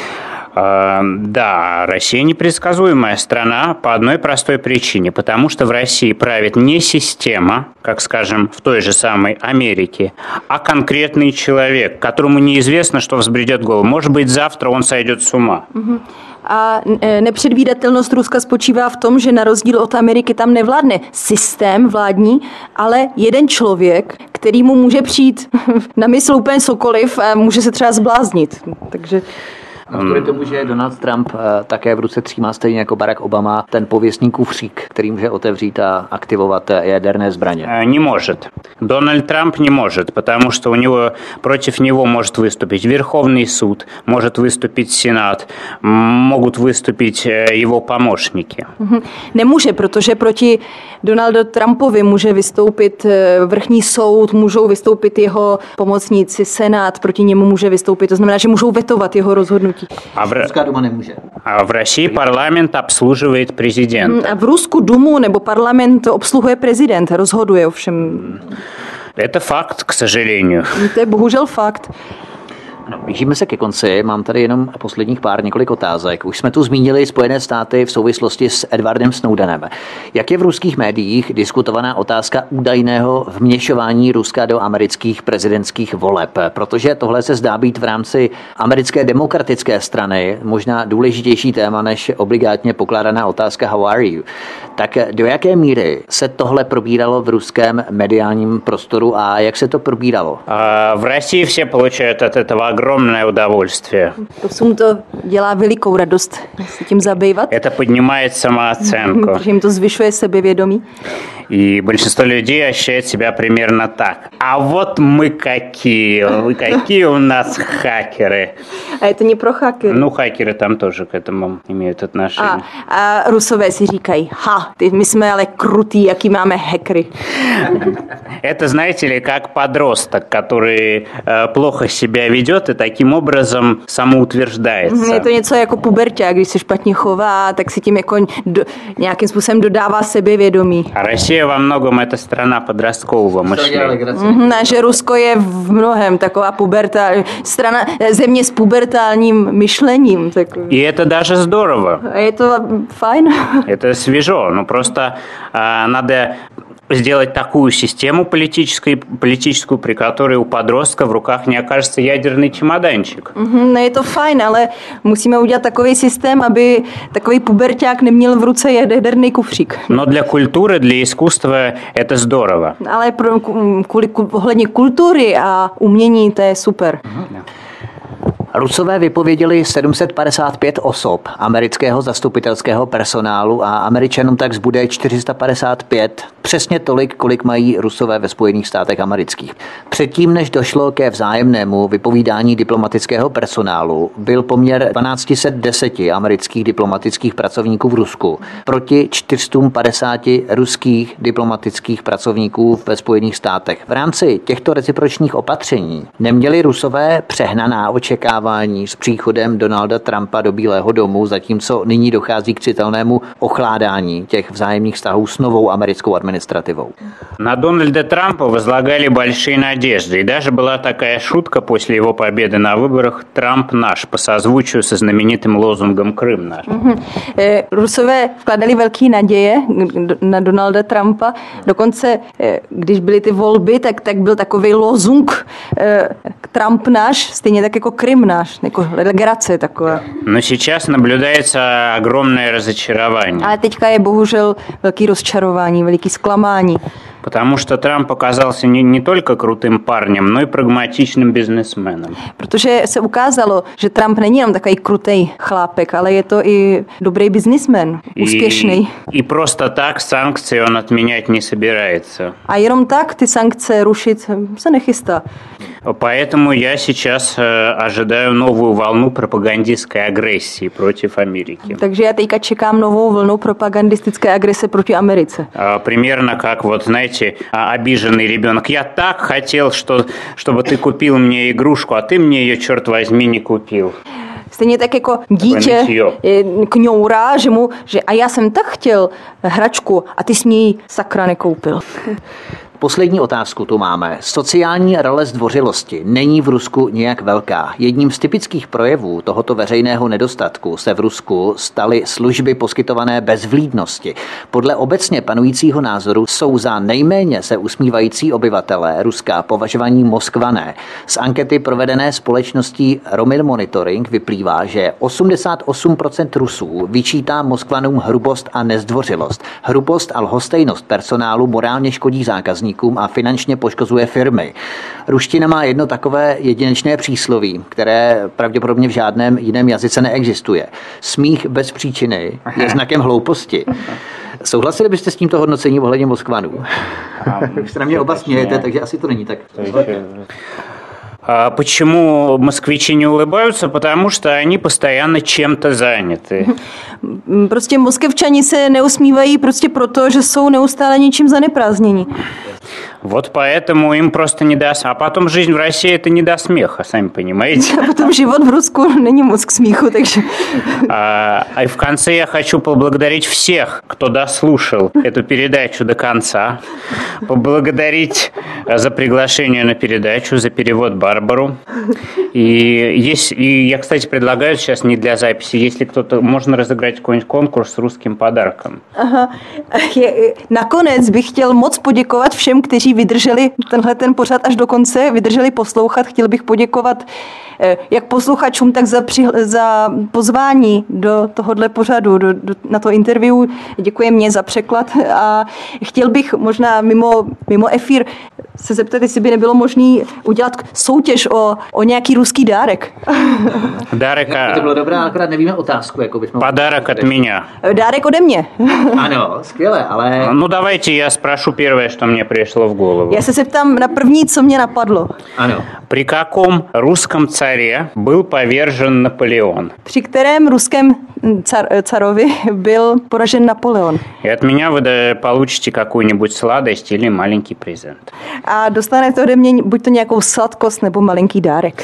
Да, Россия непредсказуемая страна по одной простой причине, потому что в России правит не система, как, скажем, в той же самой Америке, а конкретный человек, которому неизвестно, что взбредет в голову. Может быть, завтра он sойдет с ума. A nepředvídatelnost Ruska spočívá v tom, že na rozdíl od Ameriky tam nevládne systém vládní, ale jeden člověk, který mu může přijít na mysl úplně cokoliv a může se třeba zbláznit. Takže Kvůli tomu, že Donald Trump také v ruce třímá stejně jako Barack Obama ten pověstný kufřík, který může otevřít a aktivovat jaderné zbraně. Не может. Дональд Трамп не может, потому что против него может выступить Верховный суд, может выступить Сенат, могут выступить его помощники. Nemůže, protože proti Donaldu Trumpovi může vystoupit vrchní soud, můžou vystoupit jeho pomocníci, Senát, proti němu může vystoupit, to znamená, že můžou vetovat jeho rozhodnutí. Ruská duma nemůže. A v России парламент обслуживает президента. A v Rusku dumu nebo parlament obsluhuje prezident, rozhoduje ovšem. Это факт, к сожалению. To je bohužel fakt. No, blížíme se ke konci, mám tady jenom posledních několik otázek. Už jsme tu zmínili Spojené státy v souvislosti s Edwardem Snowdenem. Jak je v ruských médiích diskutovaná otázka údajného vměšování Ruska do amerických prezidentských voleb? Protože tohle se zdá být v rámci americké demokratické strany možná důležitější téma než obligátně pokládaná otázka How are you? Tak do jaké míry se tohle probíralo v ruském mediálním prostoru a jak se to probíralo? В России все получают от этого огромное удовольствие. To dělá velikou radost se tím zabývat. Это поднимает самооценку. Protože jim to zvyšuje sebevědomí. И большинство людей ощущает себя примерно так. А вот мы какие у нас хакеры. A je to не про хакеры. Ну, хакеры там тоже к этому имеют отношение. A Rusové si říkají, my jsme ale krutý, jaký máme hackery. Это, знаете ли, как подросток, который плохо себя ведет и таким образом самоутверждается. Je to něco jako puberťák, když se špatně chová, tak si tím jako nějakým způsobem dodává sebevědomí. A Россия во многом это страна подросткового мышления. A že Rusko je v mnohem taková země s pubertálním myšlením. И это даже здорово. A je to fajn. Это свежо, но просто надо сделать такую систему политическую, при которой у подростка в руках не окажется ядерный чемоданчик. No je to fajn, ale musíme udělat takový systém, aby takový puberťák neměl v ruce jaderný kufřík. Но для культуры, для искусства это здорово. Ale ohledně kultury a umění to je super. Rusové vypověděli 755 osob amerického zastupitelského personálu a Američanům tak zbude 455, přesně tolik, kolik mají Rusové ve Spojených státech amerických. Předtím, než došlo ke vzájemnému vypovídání diplomatického personálu, byl poměr 1210 amerických diplomatických pracovníků v Rusku proti 450 ruských diplomatických pracovníků ve Spojených státech. V rámci těchto recipročních opatření neměli Rusové přehnaná očekávání s příchodem Donalda Trumpa do Bílého domu, zatímco nyní dochází k citelnému ochládání těch vzájemných vztahů s novou americkou administrativou. На Дональда Трампа возлагали большие надежды. И даже была такая шутка после его победы на выборах «Трамп наш» по созвучию со знаменитым лозунгом «Крым наш». Rusové vkladali velké naděje na Donalda Trumpa. Dokonce, když byly ty volby, tak byl takový lozung Trump náš, stejně tak jako Krym náš, jako legrace taková. Но сейчас наблюдается огромное разочарование. Ale teďka je bohužel velký rozčarování, veliký zklamání. Потому что Трамп оказался не только крутым парнем, но и прагматичным бизнесменом. Protože se ukázalo, že Trump není jenom takový krutej chlápek, ale je to i dobrý biznismen, úspěšný. И просто так санкции он отменять не собирается. A jenom tak ty sankce rušit se nechystá. Поэтому я сейчас ожидаю новую волну пропагандистской агрессии против Америки. Takže já teďka čekám novou vlnu propagandistické agrese proti Americe. Примерно как, вот, знаете, обиженный ребенок. Я так хотел, чтобы ты купил мне игрушку, а ты мне ее, черт возьми, не купил. Stejně tak jako dítě kňourá, že a já jsem tak chtěl hračku a ty jsi mě ji sakra nekoupil. Poslední otázku tu máme. Sociální role zdvořilosti není v Rusku nějak velká. Jedním z typických projevů tohoto veřejného nedostatku se v Rusku staly služby poskytované bez vlídnosti. Podle obecně panujícího názoru jsou za nejméně se usmívající obyvatelé Ruska považovaní Moskvané. Z ankety provedené společností Romil Monitoring vyplývá, že 88% Rusů vyčítá Moskvanům hrubost a nezdvořilost. Hrubost a lhostejnost personálu morálně škodí zákazníkům a finančně poškozuje firmy. Ruština má jedno takové jedinečné přísloví, které pravděpodobně v žádném jiném jazyce neexistuje. Smích bez příčiny je znakem hlouposti. Souhlasili byste s tímto hodnocením ohledně Moskvanů? Vy se na mě oba smějete, takže asi to není tak. Почему москвичи не улыбаются? Потому что они постоянно чем-то заняты. Prostě moskevčani se neusmívají prostě proto, že jsou neustále něčím zaneprázdnění. Вот поэтому им просто не до... А потом жизнь в России это не до смеха, сами понимаете. A potom život v Rusku není moc k smíchu, takže... И в конце я хочу поблагодарить всех, кто дослушал эту передачу до конца. Поблагодарить за приглашение на передачу, за перевод Барбару. И я, кстати, предлагаю сейчас не для записи, если кто-то... Можно разыграть какой-нибудь конкурс с русскým подарком. Aha. Nakonec bych chtěl moc poděkovat všem, kteří vydrželi ten pořad až do konce, vydrželi poslouchat. Chtěl bych poděkovat jak posluchačům, tak za pozvání do tohohle pořadu, na to interview. Děkuji mě za překlad a chtěl bych možná mimo efír se zeptat, jestli by nebylo možné udělat soutěž o nějaký ruský dárek. To bylo dobré, akorát nevíme otázku. Jako bychom... Подарок от меня. Dárek ode mě. Ano, skvěle, ale... Ну, давайте я спрошу первое, что мне пришло в голову. Já se zeptám na první, co mě napadlo. Ano. При каком русском царе был повержен Наполеон? Při kterém ruském carovi byl poražen Napoleon? И от меня вы получите какую-нибудь сладость или маленький презент. A a dostanete ode mě buď to nějakou sladkost nebo malinký dárek.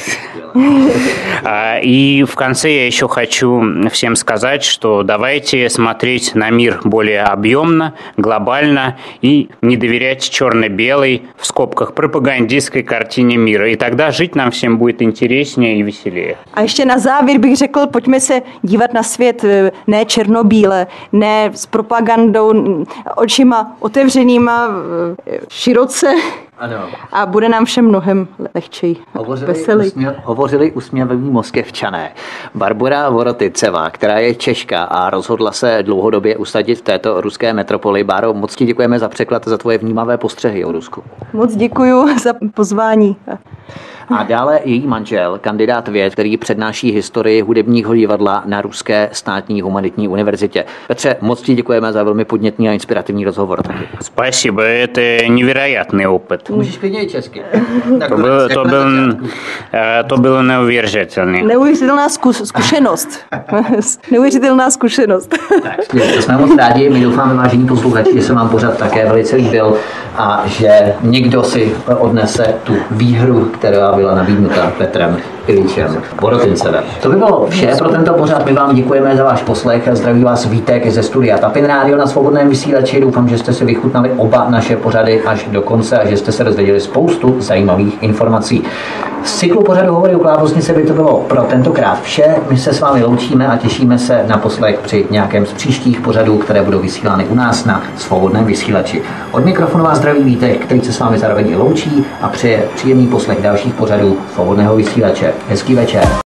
И в конце я еще хочу всем сказать, что давайте смотреть на мир более объемно, глобально и не доверять черно-белой, в скобках, пропагандистской картине мира. И тогда жить нам всем будет интереснее и веселее. A ještě na závěr bych řekl, pojďme se dívat na svět ne černobíle, ne s propagandou, očima otevřenýma, široce. Ano. A bude nám všem mnohem lehčej, veselý. Hovořili usměvaví Moskevčané. Barbora Voroticevá, která je Češka a rozhodla se dlouhodobě usadit v této ruské metropoli. Báro, moc ti děkujeme za překlad, za tvoje vnímavé postřehy o Rusku. Moc děkuju za pozvání. A dále její manžel, kandidát věd, který přednáší historii hudebního divadla na Ruské státní humanitní univerzitě. Petře, moc ti děkujeme za velmi podnětný a inspirativní rozhovor. Taky. Спасибо, это невероятный опыт. Můžeš klidně i česky. To bylo neuvěřitelné. Neuvěřitelná zkušenost. Neuvěřitelná zkušenost. Tak, to jsme moc rádi. My doufáme, vážení posluchači, že se vám pořad také velice líbil a že někdo si odnese tu výhru, která byla nabídnuta Petrem Iljičem Vorotincevem. To by bylo vše pro tento pořad. My vám děkujeme za váš poslech. Zdraví vás Vítek ze studia Tapin Rádio na Svobodném vysílači. Doufám, že jste si vychutnali oba naše pořady až do konce a že jste se dozvěděli spoustu zajímavých informací. Z cyklu pořadu Hovory o klávesnici by to bylo pro tentokrát vše. My se s vámi loučíme a těšíme se na poslech při nějakém z příštích pořadů, které budou vysílány u nás na Svobodném vysílači. Od mikrofonu vás zdraví Vítek, který se s vámi zároveň i loučí a přeje příjemný poslech dalších pořadů Svobodného vysílače. Hezký večer.